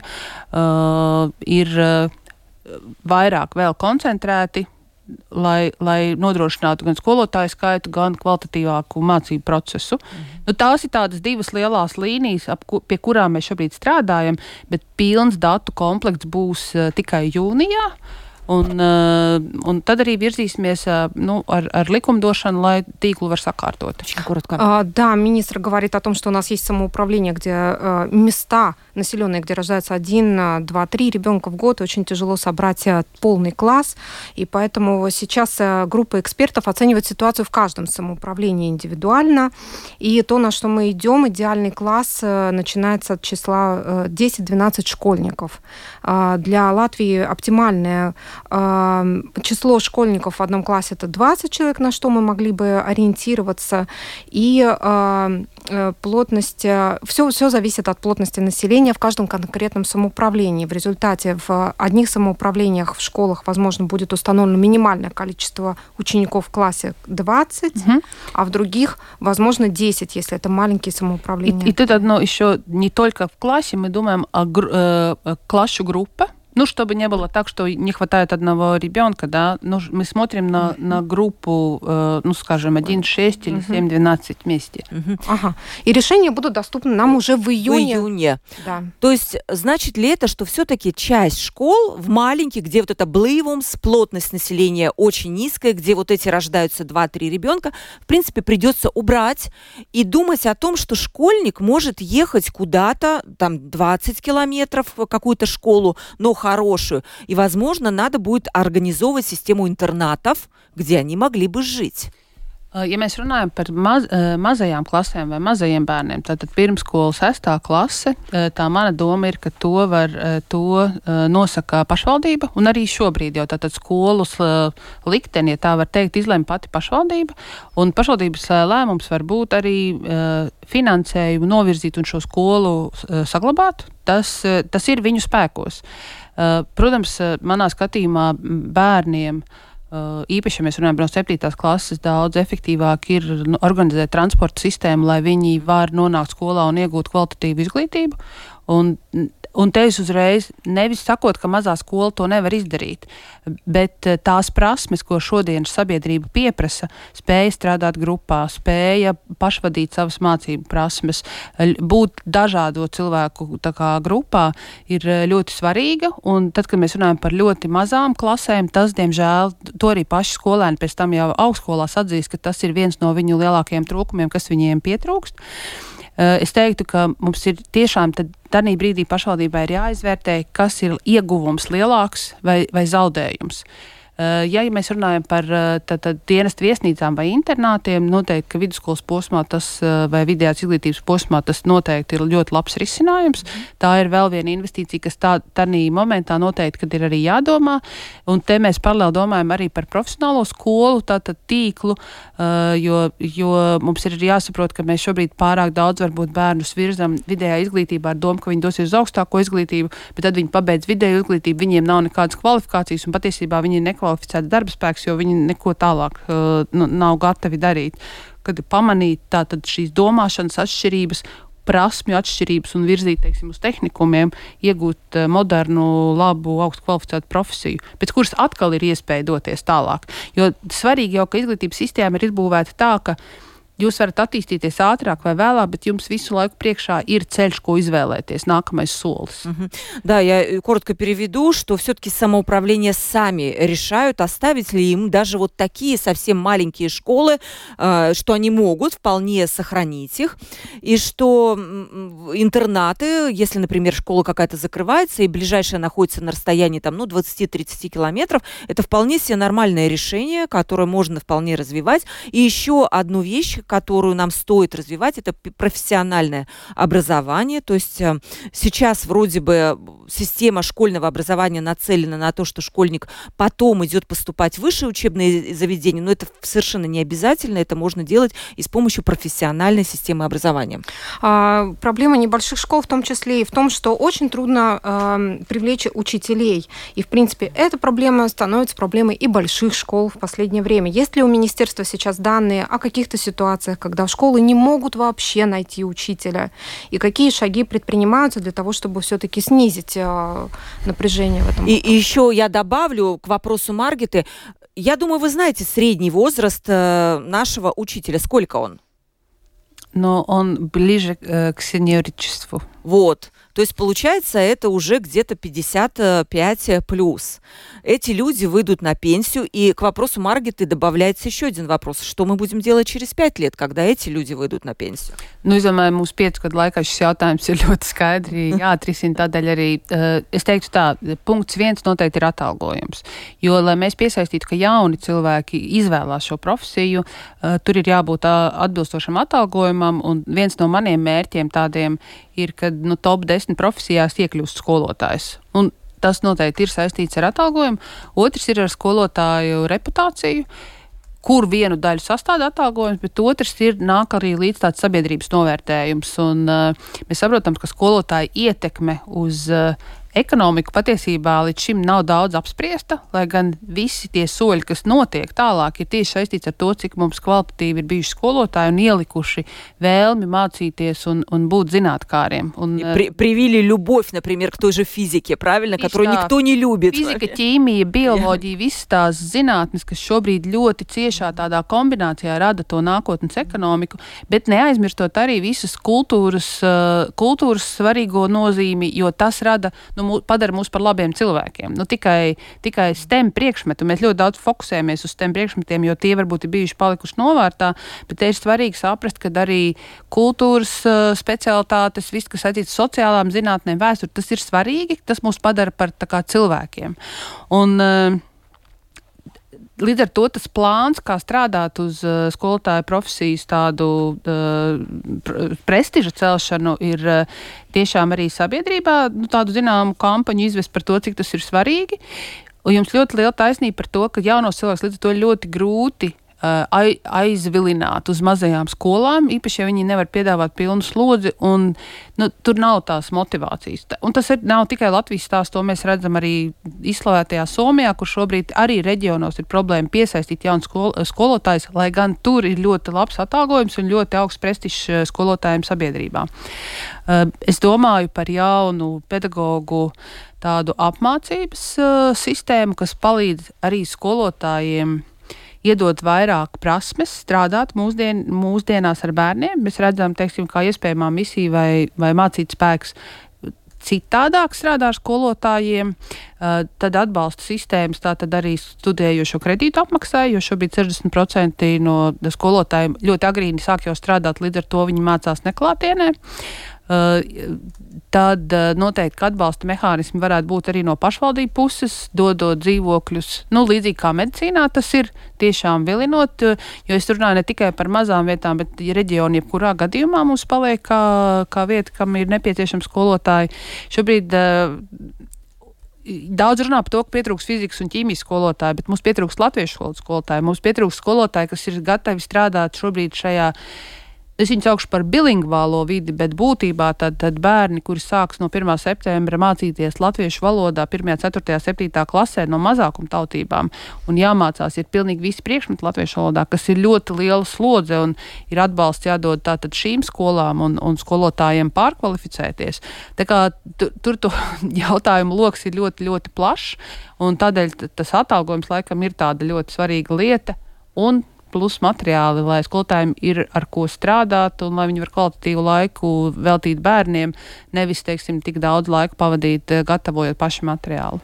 uh, ir uh, vairāk vēl koncentrēti, lai, lai nodrošinātu gan skolotāju skaitu, gan kvalitatīvāku mācību procesu. Mm-hmm. Nu, tās ir tādas divas lielās līnijas, ap, pie kurām mēs šobrīd strādājam, bet pilns datu komplekts būs uh, tikai jūnijā. Un, uh, un tad arī virzīsimies uh, ну, ar, ar likumdošanu, lai tīklu var sakārtot. А, да, министр говорит о том, что у нас есть самоуправление, где а, места населенные, где рождается один, два, три ребенка в год, очень тяжело собрать а, полный класс, и поэтому сейчас а, группа экспертов оценивает ситуацию в каждом самоуправлении индивидуально, и то, на что мы идем, идеальный класс а, начинается от числа а, десять-двенадцать школьников. А, для Латвии оптимальное число школьников в одном классе — это двадцать человек, на что мы могли бы ориентироваться, и э, плотность, все, все зависит от плотности населения в каждом конкретном самоуправлении. В результате в одних самоуправлениях в школах, возможно, будет установлено минимальное количество учеников в классе двадцать, угу. а в других, возможно, десять, если это маленькие самоуправления. И, и тут одно еще, не только в классе, мы думаем о э, класsu группе. Ну, чтобы не было так, что не хватает одного ребенка, да, ну, мы смотрим на, на группу, э, ну, скажем, один шесть или семь двенадцать вместе. Ага. И решения будут доступны нам уже в июне. В июне. Да. То есть, значит ли это, что все-таки часть школ в маленьких, где вот это блейвумс, плотность населения очень низкая, где вот эти рождаются два-три ребенка, в принципе, придется убрать и думать о том, что школьник может ехать куда-то, там, двадцать километров в какую-то школу, но хорошую. И, возможно, надо будет организовывать систему интернатов, где они могли бы жить. Ja mēs runājam par maz, mazajām klasēm vai mazajiem bērniem, tātad pirmskola sestā klase, tā mana doma ir, ka to var, to nosaka pašvaldība, un arī šobrīd jau tātad skolas likteni, ja tā var teikt, izlem pati pašvaldība, un pašvaldības lēmums var būt arī finansējumu novirzīt un šo skolu saglabāt. Tas, tas ir viņu spēkos. Protams, manā skatījumā bērniem īpaši, ja mēs runājam par septītās klases, daudz efektīvāk ir organizēt transporta sistēmu, lai viņi var nonākt skolā un iegūt kvalitatīvu izglītību. Un, un te es uzreiz nevis sakot, ka mazā skola to nevar izdarīt, bet tās prasmes, ko šodienas sabiedrība pieprasa, spēja strādāt grupā, spēja pašvadīt savas mācību prasmes, būt dažādo cilvēku tā kā grupā, ir ļoti svarīga. Un tad, kad mēs runājam par ļoti mazām klasēm, tas, diemžēl, to arī paši skolēni pēc tam jau augstskolās atzīst, ka tas ir viens no viņu lielākajiem trūkumiem, kas viņiem pietrūkst. Es teiktu, ka mums ir tiešām tad tādā brīdī pašvaldībai ir jāizvērtē, kas ir ieguvums lielāks vai, vai zaudējums. Ja mēs runājam par tātad dienestu viesnīcām vai internātiem, noteikti, ka vidusskolas posmā tas vai vidējās izglītības posmā tas noteikti ir ļoti labs risinājums. Tā ir vēl viena investīcija, kas tā, tādā momentā noteikti, kad ir arī jādomā. Un te mēs paralēli domājam arī par profesionālo skolu, tātad tīklu, jo, jo mums ir jāsaprot, ka mēs šobrīd pārāk daudz varbūt bērnus virzam vidējā izglītībā ar domu, ka viņi dosies uz augstāko izglītību, bet tad viņi pabeidz vidēju izglītību, viņiem nav nekādas kvalifikācijas un patiesībā viņi ir nekvalificēts darba spēks, jo viņi neko tālāk uh, nu, nav gatavi darīt. Kad pamanīt tātad šīs domāšanas atšķirības, prasmju atšķirības un virzīt, teiksim, uz tehnikumiem, iegūt uh, modernu, labu, augstu kvalificētu profesiju, pēc kuras atkal ir iespēja doties tālāk. Jo svarīgi jau, ka izglītības sistēma ir izbūvēta tā, ka jūs varat attīstīties ātrāk vai vēlāk, bet jums visu laikу priekšā ir ceļš, ko изvēlēties, накомais солис. Угу. Да, я коротко переведу, что все-таки самоуправление сами решают, оставить ли им даже вот такие совсем маленькие школы, э, что они могут вполне сохранить их, и что интернаты, если, например, школа какая-то закрывается, и ближайшая находится на расстоянии там, ну, двадцать-тридцать километров, это вполне себе нормальное решение, которое можно вполне развивать. И еще одну вещь, которую нам стоит развивать, это профессиональное образование. То есть сейчас вроде бы система школьного образования нацелена на то, что школьник потом идет поступать в высшие учебные заведения, но это совершенно не обязательно, это можно делать и с помощью профессиональной системы образования. А, проблема небольших школ в том числе и в том, что очень трудно э, привлечь учителей. И, в принципе, эта проблема становится проблемой и больших школ в последнее время. Есть ли у министерства сейчас данные о каких-то ситуациях, когда школы не могут вообще найти учителя? И какие шаги предпринимаются для того, чтобы все-таки снизить э, напряжение в этом и, вопросе? И еще я добавлю к вопросу Маргиты. Я думаю, вы знаете средний возраст э, нашего учителя. Сколько он? Но он ближе э, к сеньоричеству. Вот. То есть, получается, это уже где-то пятьдесят пять плюс. Эти люди выйдут на пенсию, и к вопросу Маргиты добавляется еще один вопрос. Что мы будем делать через пять лет, когда эти люди выйдут на пенсию? Nu, es domāju, mūsu piecu gadu laikā šis jautājums ir ļoti skaidri jāatrisina. Tādēļ arī uh, es teiktu tā, punkts viens noteikti ir atalgojums. Jo, lai mēs piesaistītu, ka jauni cilvēki izvēlās šo profesiju, uh, tur ir jābūt uh, atbilstošam atalgojumam, un viens no maniem mērķiem tādiem ir, kad nu, top desmit profesijās iekļūst skolotājs. Un tas noteikti ir saistīts ar atalgojumu. Otrs ir ar skolotāju reputāciju, kur vienu daļu sastāda atalgojums, bet otrs ir nāk arī līdz tāds sabiedrības novērtējums. Un uh, mēs saprotam, ka skolotāja ietekme uz uh, ekonomiku patiesībā līdz šim nav daudz apspriesta, lai gan visi tie soļi, kas notiek tālāk, ir tieši saistīts ar to, cik mums kvalitatīvi ir bijuši skolotāji un ielikuši vēlmi mācīties un, un būt zinātkāriem. Un, При, привили любовь, например, к той же физике, правильно, которую tā, никто не любит. Fizika, ķīmija, bioloģija, visas tās zinātnes, kas šobrīd ļoti ciešā tādā kombinācijā rada to nākotnes ekonomiku, bet neaizmirstot arī visas kultūras, kultūras svarīgo nozīmi, jo tas rada, nu, padara mūs par labiem cilvēkiem. Nu, tikai, tikai STEM priekšmetu. Mēs ļoti daudz fokusējamies uz STEM priekšmetiem, jo tie varbūt ir bijuši palikuši novārtā, bet te ir svarīgi saprast, ka arī kultūras uh, specialitātes, viss, kas saistīts sociālām zinātnēm, vēsturi, tas ir svarīgi, tas mūs padara par tā kā cilvēkiem. Un uh, līdz ar to tas plāns, kā strādāt uz uh, skolotāju profesijas tādu uh, prestiža celšanu, ir uh, tiešām arī sabiedrībā nu, tādu zināmu kampaņu izvest par to, cik tas ir svarīgi. Un jums ļoti liela taisnība par to, ka jaunos cilvēks līdz ar to ļoti grūti aizvilināt uz mazajām skolām, īpaši, ja viņi nevar piedāvāt pilnu slodzi, un nu, tur nav tās motivācijas. Un tas ir, nav tikai Latvijas stāsts, to mēs redzam arī izslavētajā Somijā, kur šobrīd arī reģionos ir problēma piesaistīt jaunu skol, skolotājus, lai gan tur ir ļoti labs atalgojums un ļoti augsts prestižs skolotājiem sabiedrībā. Es domāju par jaunu pedagogu tādu apmācības sistēmu, kas palīdz arī skolotājiem iedot vairāk prasmes, strādāt mūsdien, mūsdienās ar bērniem. Mēs redzam, teiksim, kā iespējamā misija vai, vai mācīt spēks citādāk strādā ar skolotājiem, tad atbalsta sistēmas, tā tad arī studējošo kredītu apmaksāja, jo šobrīd sešdesmit procenti no skolotājiem ļoti agrīni sāk jau strādāt, līdz ar to viņi mācās neklātienē. Tad noteikti atbalsta mehānismi varētu būt arī no pašvaldību puses, dodot dzīvokļus, nu, līdzīgi kā medicīnā tas ir, tiešām vilinot, jo es runāju ne tikai par mazām vietām, bet reģioni jebkurā gadījumā mums paliek kā, kā vieta, kam ir nepieciešams skolotāji. Šobrīd uh, daudz runā par to, ka pietrūks fizikas un ķīmijas skolotāji, bet mums pietrūks latviešu skolotāji, mums pietrūks skolotāji, kas ir gatavi strādāt šobrīd šajā. Es viņu saukšu par bilingvālo vidi, bet būtībā tad, tad bērni, kuri sāks no pirmā septembra mācīties latviešu valodā pirmajā, ceturtajā, septītā klasē no mazākuma tautībām un jāmācās ir pilnīgi visi priekšmeti latviešu valodā, kas ir ļoti liela slodze un ir atbalsts jādod tātad šīm skolām un, un skolotājiem pārkvalificēties. Tā kā tur, tur to jautājumu loks ir ļoti, ļoti plašs un tādēļ tas atalgojums laikam ir tāda ļoti svarīga lieta un plus materiāli, lai skolotājiem ir ar ko strādāt un lai viņi var kvalitatīvu laiku veltīt bērniem, nevis, teiksim, tik daudz laika pavadīt, gatavojot pašu materiālu.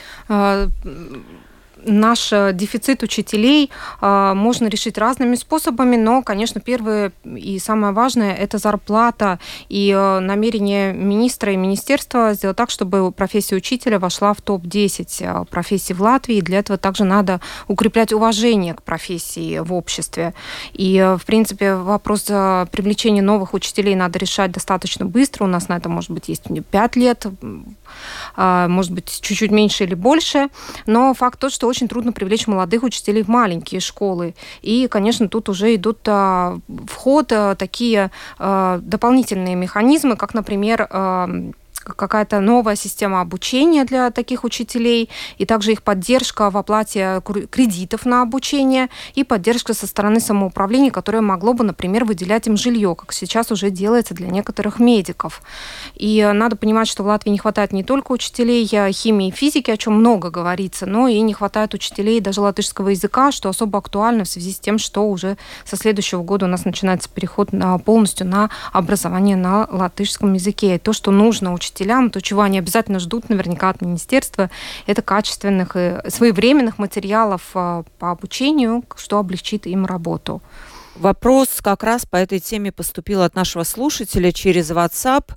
Uh, Наш дефицит учителей а, можно решить разными способами, но, конечно, первое и самое важное – это зарплата и а, намерение министра и министерства сделать так, чтобы профессия учителя вошла в топ десять а, профессий в Латвии. И для этого также надо укреплять уважение к профессии в обществе. И, а, в принципе, вопрос а, привлечения новых учителей надо решать достаточно быстро. У нас на это, может быть, есть пять лет, а, может быть, чуть-чуть меньше или больше. Но факт тот, что очень трудно привлечь молодых учителей в маленькие школы. И, конечно, тут уже идут а, в ход а, такие а, дополнительные механизмы, как, например, а, какая-то новая система обучения для таких учителей, и также их поддержка в оплате кредитов на обучение, и поддержка со стороны самоуправления, которое могло бы, например, выделять им жилье, как сейчас уже делается для некоторых медиков. И надо понимать, что в Латвии не хватает не только учителей химии и физики, о чем много говорится, но и не хватает учителей даже латышского языка, что особо актуально в связи с тем, что уже со следующего года у нас начинается переход на, полностью на образование на латышском языке. И то, что нужно учителям, то, чего они обязательно ждут наверняка от министерства, это качественных и своевременных материалов по обучению, что облегчит им работу. Вопрос как раз по этой теме поступил от нашего слушателя через WhatsApp.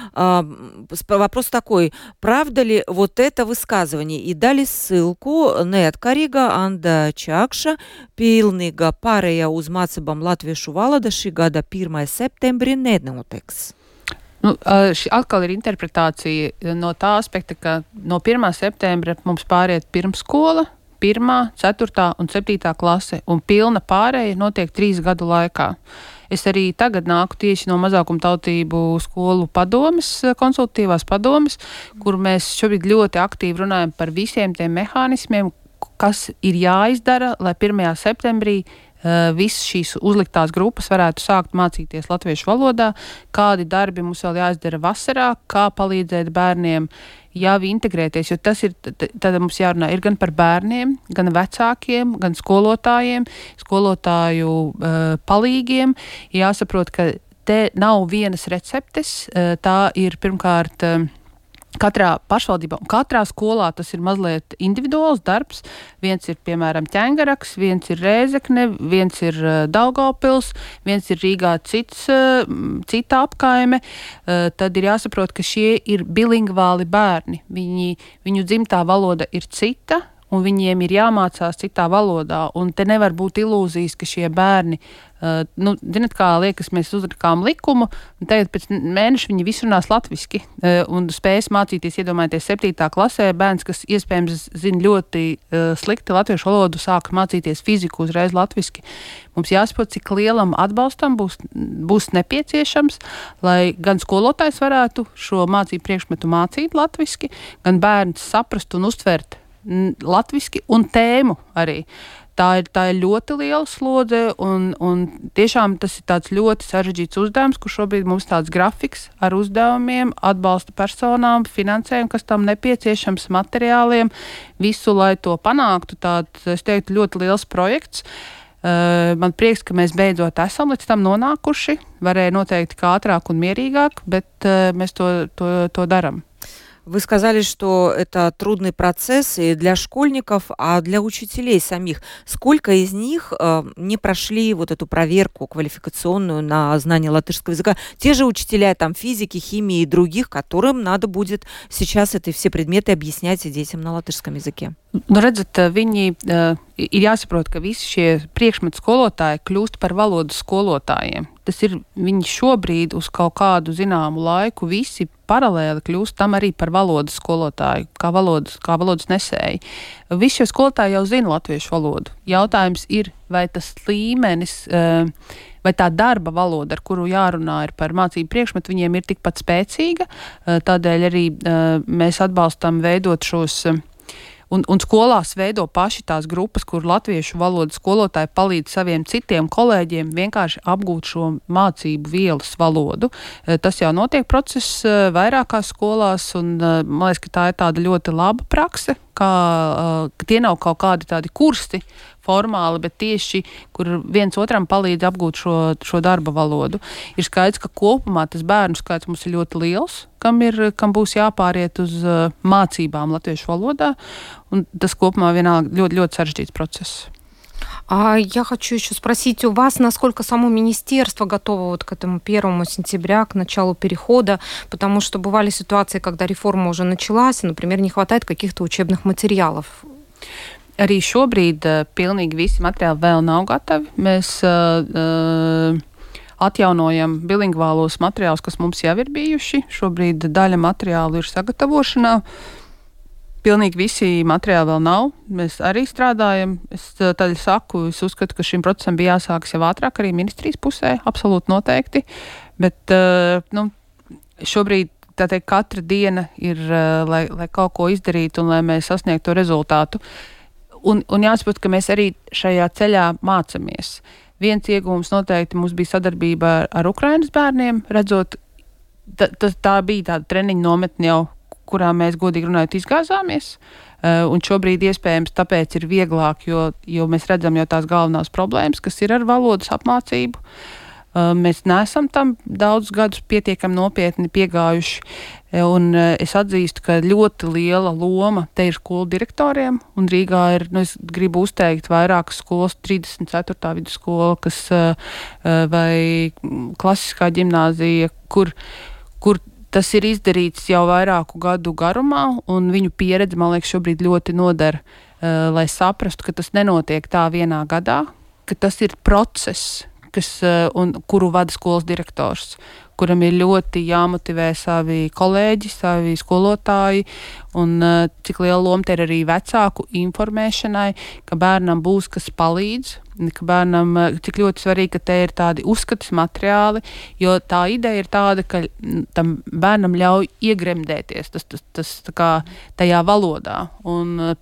Вопрос такой: правда ли вот это высказывание? И дали ссылку неatkarīga Anda Čakša, pilnīga pārējā uz mācībām latviešu valoda šī gada pirmā septembrī nenotiks. Nu, šī atkal ir interpretācija no tā aspekta, ka no pirmā septembra mums pāriet pirmskola, pirmā, ceturtā un septītā klase, un pilna pārēja notiek trīs gadu laikā. Es arī tagad nāku tieši no mazākumtautību skolu padomes, konsultatīvās padomes, kur mēs šobrīd ļoti aktīvi runājam par visiem tiem mehānismiem, kas ir jāizdara, lai pirmajā septembrī Uh, visas šīs uzliktās grupas varētu sākt mācīties latviešu valodā, kādi darbi mums vēl jāizdara vasarā, kā palīdzēt bērniem jau integrēties, jo tas ir, tad mums jārunā ir gan par bērniem, gan vecākiem, gan skolotājiem, skolotāju uh, palīgiem. Jāsaprot, ka te nav vienas receptes, uh, tā ir pirmkārt uh, katrā pašvaldībā un katrā skolā tas ir mazliet individuāls darbs. Viens ir, piemēram, Ķengaraks, viens ir Rēzekne, viens ir uh, Daugavpils, viens ir Rīgā cits, uh, cita apkaime. Uh, tad ir jāsaprot, ka šie ir bilingvāli bērni. Viņi, viņu dzimtā valoda ir cita, un viņiem ir jāmācās citā valodā. Un te nevar būt ilūzijas, ka šie bērni, uh, nu, zināt, kā liekas, mēs uzrakām likumu, un tagad pēc mēneša viņi visi runās latviski, uh, un spējas mācīties, iedomājieties, septītā klasē bērns, kas iespējams zina ļoti uh, slikti latviešu valodu, sāk mācīties fiziku uzreiz latviski. Mums jāsaprot, cik lielam atbalstam būs, būs nepieciešams, lai gan skolotājs varētu šo mācību priekšmetu mācīt latviski, gan bērns saprast un uztvert latviski un tēmu arī. Tā ir, tā ir ļoti liela slodze, un, un tiešām tas ir tāds ļoti sarežģīts uzdevums, kur šobrīd mums tāds grafiks ar uzdevumiem, atbalsta personām, finansējumu, kas tam nepieciešams, materiāliem, visu, lai to panāktu. Tāds, es teiktu, ļoti liels projekts. Uh, man prieks, ka mēs beidzot esam līdz tam nonākuši. Varēja noteikti kā ātrāk un mierīgāk, bet uh, mēs to, to, to daram. Вы сказали, что это трудный процесс и для школьников, а для учителей самих. Сколько из них э, не прошли вот эту проверку квалификационную на знание латышского языка? Те же учителя там, физики, химии и других, которым надо будет сейчас эти все предметы объяснять детям на латышском языке. Nu, redzat, viņi uh, ir jāsaprot, ka visi šie priekšmetu skolotāji kļūst par valodas skolotājiem. Tas ir viņi šobrīd uz kaut kādu zināmu laiku visi paralēli kļūst tam arī par valodas skolotāju, kā valodas, kā valodas nesēji. Visi šie skolotāji jau zina latviešu valodu. Jautājums ir, vai tas līmenis, uh, vai tā darba valoda, ar kuru jārunā ir par mācību priekšmetu, viņiem ir tikpat spēcīga. Uh, tādēļ arī uh, mēs atbalstam veidot šos uh, Un, un skolās veido paši tās grupas, kur latviešu valodas skolotāji palīdz saviem citiem kolēģiem vienkārši apgūt šo mācību vielas valodu. Tas jau notiek process vairākās skolās, un man liekas, ka tā ir tāda ļoti laba prakse, kā, ka tie nav kaut kādi tādi kursi formāli, bet tieši, kur viens otram palīdz apgūt šo, šo darba valodu. Ir skaidrs, ka kopumā tas bērnu skaits mums ir ļoti liels, kam, ir, kam būs jāpāriet uz uh, mācībām latviešu valodā, un tas kopumā vienalga ļoti, ļoti sarežģīts process. А я хочу еще спросить у вас, насколько само министерство готово вот к этому первому сентября, к началу перехода, потому что бывали ситуации, когда реформа уже началась, и, например, не хватает каких-то учебных материалов. Arī šobrīd uh, pilnīgi visi materiāli vēl nav gatavi. Mēs uh, uh, atjaunojam bilingvālos materiālus, kas mums jau ir bijuši. Šobrīd daļa materiālu ir sagatavošanā. Pilnīgi visi materiāli vēl nav. Mēs arī strādājam. Es tādēļ saku, es uzskatu, ka šim procesam bija jāsākas jau ātrāk arī ministrijas pusē, absolūti noteikti. Bet uh, nu, šobrīd tā teikt, katra diena ir, uh, lai, lai kaut ko izdarītu un lai mēs sasniegtu to rezultātu. Un, un jāsaprot, ka mēs arī šajā ceļā mācamies. Viens iegūms noteikti mums bija sadarbība ar, ar Ukrainas bērniem, redzot, ta, ta, tā bija tāda treniņa nometne jau, kurā mēs godīgi runājot izgāzāmies. Uh, un šobrīd iespējams tāpēc ir vieglāk, jo, jo mēs redzam jau tās galvenās problēmas, kas ir ar valodas apmācību. Uh, mēs neesam tam daudz gadus pietiekami nopietni piegājuši, un uh, es atzīstu, ka ļoti liela loma te ir skolu direktoriem, un Rīgā ir, nu, es gribu uzteikt vairākas skolas, trīsdesmit ceturtā vidusskola, kas uh, vai klasiskā ģimnāzija, kur, kur tas ir izdarīts jau vairāku gadu garumā, un viņu pieredze, man liekas, šobrīd ļoti noder, uh, lai saprastu, ka tas nenotiek tā vienā gadā, ka tas ir process, kas, un, kuru vada skolas direktors, kuram ir ļoti jāmotivē savi kolēģi, savi skolotāji, un cik liela loma te ir arī vecāku informēšanai, ka bērnam būs kas palīdz, ka bērnam, cik ļoti svarīgi, ka te ir tādi uzskatas materiāli, jo tā ideja ir tāda, ka tam bērnam ļauj iegremdēties tas, tas, tas tā kā tajā valodā, un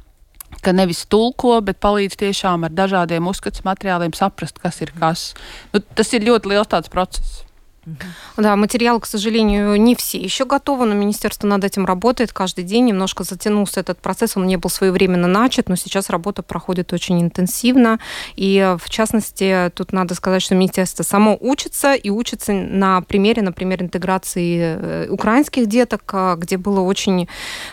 ka nevis tulko, bet palīdz tiešām ar dažādiem uzskats materiāliem saprast, kas ir kas. Nu, tas ir ļoti liels tāds процесс. Да, материал, к сожалению, не все еще готовы, но министерство над этим работает каждый день. Немножко затянулся этот процесс, он не был своевременно начат, но сейчас работа проходит очень интенсивно. И, в частности, тут надо сказать, что министерство само учится, и учится на примере, например, интеграции украинских деток, где было очень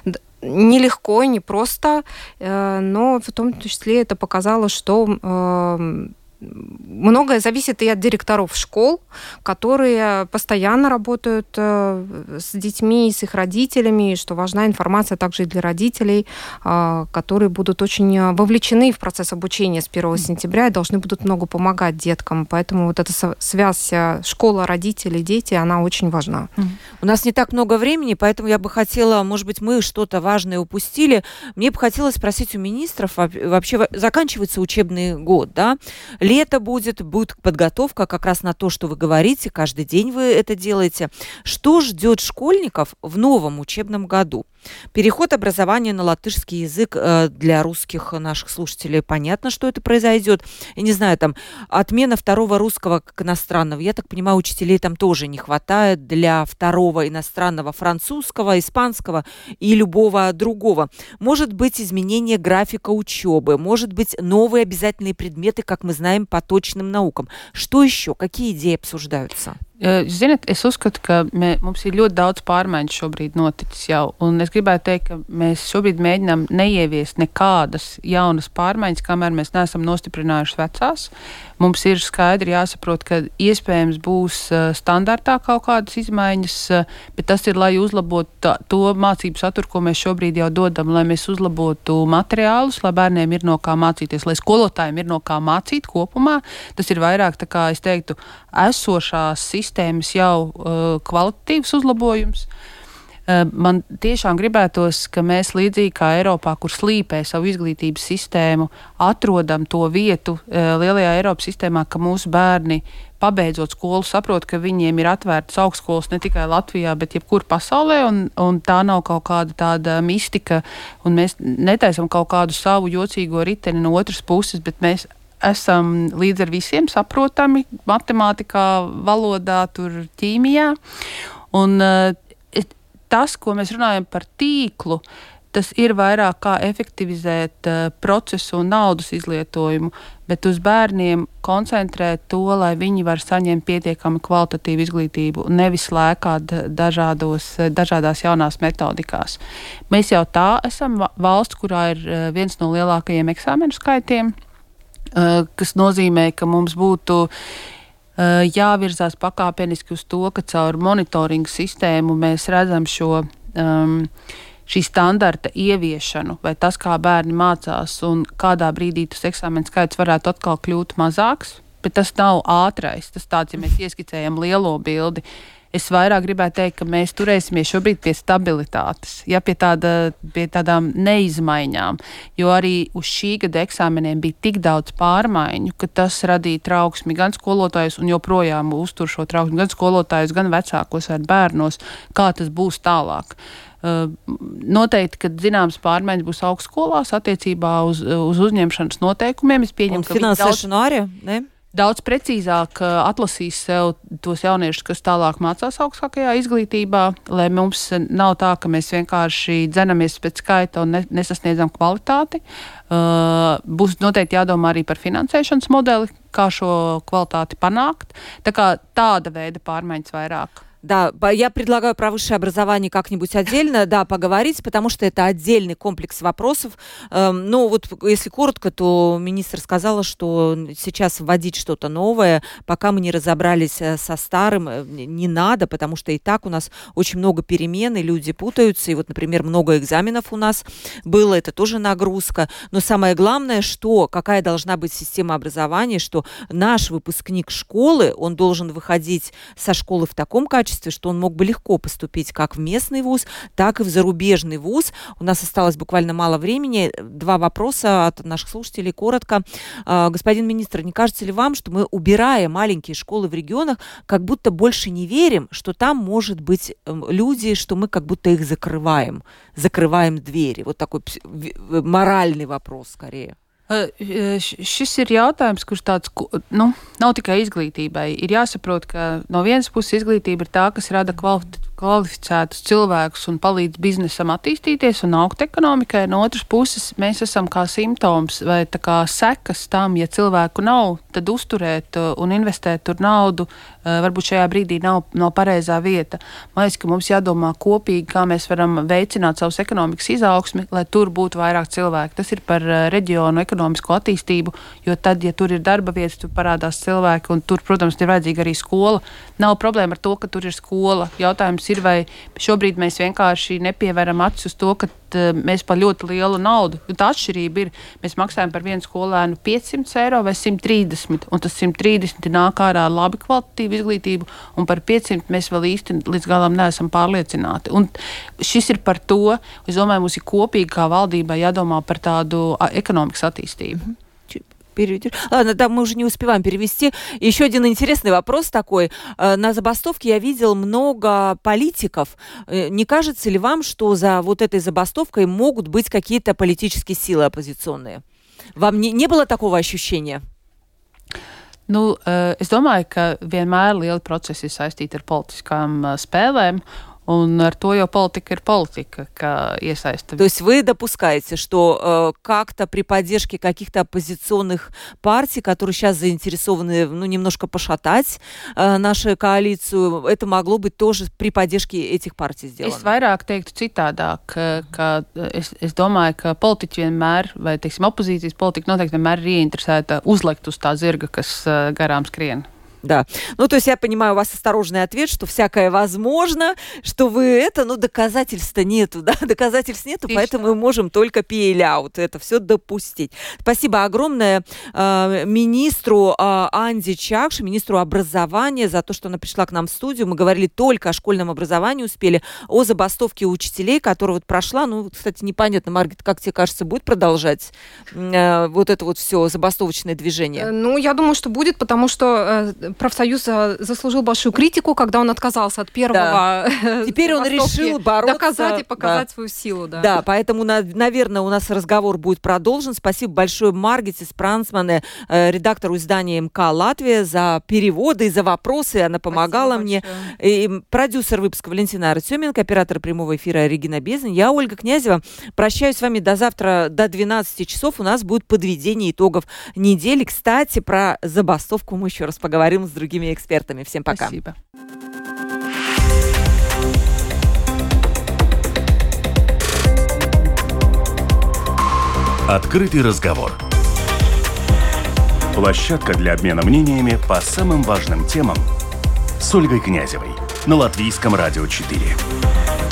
нелегко и непросто, но в том числе это показало, что многое зависит и от директоров школ, которые постоянно работают с детьми, с их родителями, что важна информация также и для родителей, которые будут очень вовлечены в процесс обучения с первого сентября и должны будут много помогать деткам. Поэтому вот эта связь школа, родители, дети, она очень важна. У нас не так много времени, поэтому я бы хотела, может быть, мы что-то важное упустили. Мне бы хотелось спросить у министров, вообще заканчивается учебный год, да? Лето будет, будет подготовка как раз на то, что вы говорите, каждый день вы это делаете. Что ждет школьников в новом учебном году? Переход образования на латышский язык для русских наших слушателей, понятно, что это произойдет. Я не знаю, там, отмена второго русского как иностранного. Я так понимаю, учителей там тоже не хватает для второго иностранного французского, испанского и любого другого. Может быть, изменение графика учебы, может быть, новые обязательные предметы, как мы знаем, по точным наукам. Что еще? Какие идеи обсуждаются? Ziniet, es uzskatu, ka mē, mums ir ļoti daudz pārmaiņu šobrīd noticis jau, un es gribētu teikt, ka mēs šobrīd mēģinām neieviest nekādas jaunas pārmaiņas, kamēr mēs neesam nostiprinājuši vecās. Mums ir skaidri jāsaprot, ka iespējams būs standartā kaut kādas izmaiņas, bet tas ir, lai uzlabotu tā, to mācību saturu, ko mēs šobrīd jau dodam, lai mēs uzlabotu materiālus, lai bērniem ir no kā mācīties, lai skolotājiem ir no kā mācīt kopumā. Tas ir vairāk, tā kā es teiktu, esošās sistēmas jau uh, kvalitatīvs uzlabojums. Uh, man tiešām gribētos, ka mēs līdzīgi kā Eiropā, kur slīpē savu izglītības sistēmu, atrodam to vietu uh, lielajā Eiropas sistēmā, ka mūsu bērni, pabeidzot skolu, saprot, ka viņiem ir atvērtas augstskolas ne tikai Latvijā, bet jebkur pasaulē, un, un tā nav kaut kāda tāda mistika, un mēs netaisam kaut kādu savu jocīgo riteni no otras puses, bet mēs esam līdz ar visiem saprotami matemātikā, valodā, tur ķīmijā. Un uh, tas, ko mēs runājam par tīklu, tas ir vairāk kā efektivizēt uh, procesu un naudas izlietojumu, bet uz bērniem koncentrēt to, lai viņi var saņemt pietiekami kvalitatīvu izglītību, nevis lēkāt dažādos, dažādās jaunās metodikās. Mēs jau tā esam valsts, kurā ir uh, viens no lielākajiem eksāmenu skaitiem, kas nozīmē, ka mums būtu uh, jāvirzās pakāpeniski uz to, ka caur monitoringu sistēmu mēs redzam šo, um, šī standarta ieviešanu, vai tas, kā bērni mācās un kādā brīdī tas eksāmenu skaits varētu atkal kļūt mazāks, bet tas nav ātrais. Tas tāds, ja mēs ieskicējam lielo bildi. Es vairāk gribētu teikt, ka mēs turēsimies šobrīd pie stabilitātes, ja pie, tāda, pie tādām neizmaiņām, jo arī uz šī gada eksāmeniem bija tik daudz pārmaiņu, ka tas radīja trauksmi gan skolotājus un joprojām uztur šo trauksmi gan skolotājus, gan vecākos vai bērnos, kā tas būs tālāk. Uh, noteikti, kad zināms pārmaiņas būs augstskolās attiecībā uz, uz uzņemšanas noteikumiem. Es pieņemu, un finansēšanu arī, ne? Daudz precīzāk uh, atlasīs sev tos jauniešus, kas tālāk mācās augstākajā izglītībā, lai mums nav tā, ka mēs vienkārši dzenamies pēc skaita un ne, nesasniedzam kvalitāti. Uh, būs noteikti jādomā arī par finansēšanas modeli, kā šo kvalitāti panākt. Tā kā tāda veida pārmaiņas vairāk. Да, я предлагаю про высшее образование как-нибудь отдельно, да, поговорить, потому что это отдельный комплекс вопросов. Эм, ну, вот если коротко, то министр сказала, что сейчас вводить что-то новое, пока мы не разобрались со старым, не надо, потому что и так у нас очень много перемен, и люди путаются, и вот, например, много экзаменов у нас было, это тоже нагрузка. Но самое главное, что, какая должна быть система образования, что наш выпускник школы, он должен выходить со школы в таком качестве, что он мог бы легко поступить как в местный вуз, так и в зарубежный вуз. У нас осталось буквально мало времени. Два вопроса от наших слушателей, коротко. Господин министр, не кажется ли вам, что мы, убирая маленькие школы в регионах, как будто больше не верим, что там может быть люди, что мы как будто их закрываем, закрываем двери? Вот такой моральный вопрос скорее. Šis ir jautājums, kurš tāds, nu, nav tikai izglītībai. Ir jāsaprot, ka no vienas puses izglītība ir tā, kas rada kvalitatīvu kvalificētus cilvēkus un palīdz biznesam attīstīties un augt ekonomikai. No otras puses, mēs esam kā simptoms vai tā kā sekas tam, ja cilvēku nav, tad uzturēt un investēt tur naudu varbūt šajā brīdī nav, nav pareizā vieta. Man liekas, ka mums jādomā kopīgi, kā mēs varam veicināt savus ekonomikas izaugsmi, lai tur būtu vairāk cilvēku. Tas ir par reģionu ekonomisko attīstību, jo tad, ja tur ir darba vietas, tur parādās cilvēki un tur, protams, ir vajadzīga arī skola. Nav problēma ar to, ka tur ir skola. Jautājums ir, vai šobrīd mēs vienkārši nepievēram acis uz to, ka mēs par ļoti lielu naudu. Tā atšķirība ir, mēs maksājam par vienu skolēnu piecsimt eiro vai simt trīsdesmit, un tas simt trīsdesmit nāk ārā labi kvalitatīvu izglītību, un par piecsimt mēs vēl īsti līdz galam neesam pārliecināti. Un šis ir par to, es domāju, mums ir kopīgi kā valdībai jādomā par tādu ekonomikas attīstību. Ладно, да, мы уже не успеваем перевести. Еще один интересный вопрос такой. На забастовке я видел много политиков. Не кажется ли вам, что за вот этой забастовкой могут быть какие-то политические силы оппозиционные? Вам не, не было такого ощущения? Nu, es domāju, ka vienmēr lieli procesi ir saistīti ar politiskām spēlēm. Un ar to jau политика ir политика, ka iesaista. То есть вы допускаете, что э, как-то при поддержке каких-то оппозиционных партий, которые сейчас заинтересованы, ну, немножко пошатать э, нашу коалицию, это могло быть тоже при поддержке этих партий сделано? Es vairāk teiktu citādāk, ka, ka es, es domāju, ka politiķi vienmēr, vai, teiksim, opozīcijas politika noteikti vienmēr ir ieinteresēta uzlikt uz tā zirga, kas uh, garām skrien. Да. Ну, то есть я понимаю, у вас осторожный ответ, что всякое возможно, что вы это, ну, доказательств-то нету, да, доказательств нету, Отлично. Поэтому мы можем только пейляут, это все допустить. Спасибо огромное э, министру э, Анде Чакши, министру образования, за то, что она пришла к нам в студию. Мы говорили только о школьном образовании, успели о забастовке учителей, которая вот прошла. Ну, кстати, непонятно, Маргит, как тебе кажется, будет продолжать э, вот это вот все забастовочное движение? Ну, я думаю, что будет, потому что э, профсоюз заслужил большую критику, когда он отказался от первого. Да. Теперь он решил бороться. Доказать и показать да. свою силу. Да, да, поэтому, наверное, у нас разговор будет продолжен. Спасибо большое Маргите Спрансмане, редактору издания МК «Латвия», за переводы и за вопросы. Она помогала Спасибо мне. И продюсер выпуска Валентина Артеменко, оператор прямого эфира Регина Безань. Я, Ольга Князева. Прощаюсь с вами до завтра, до двенадцати часов. У нас будет подведение итогов недели. Кстати, про забастовку мы еще раз поговорим с другими экспертами. Всем пока. Спасибо. Открытый разговор. Площадка для обмена мнениями по самым важным темам с Ольгой Князевой на Латвийском радио четыре.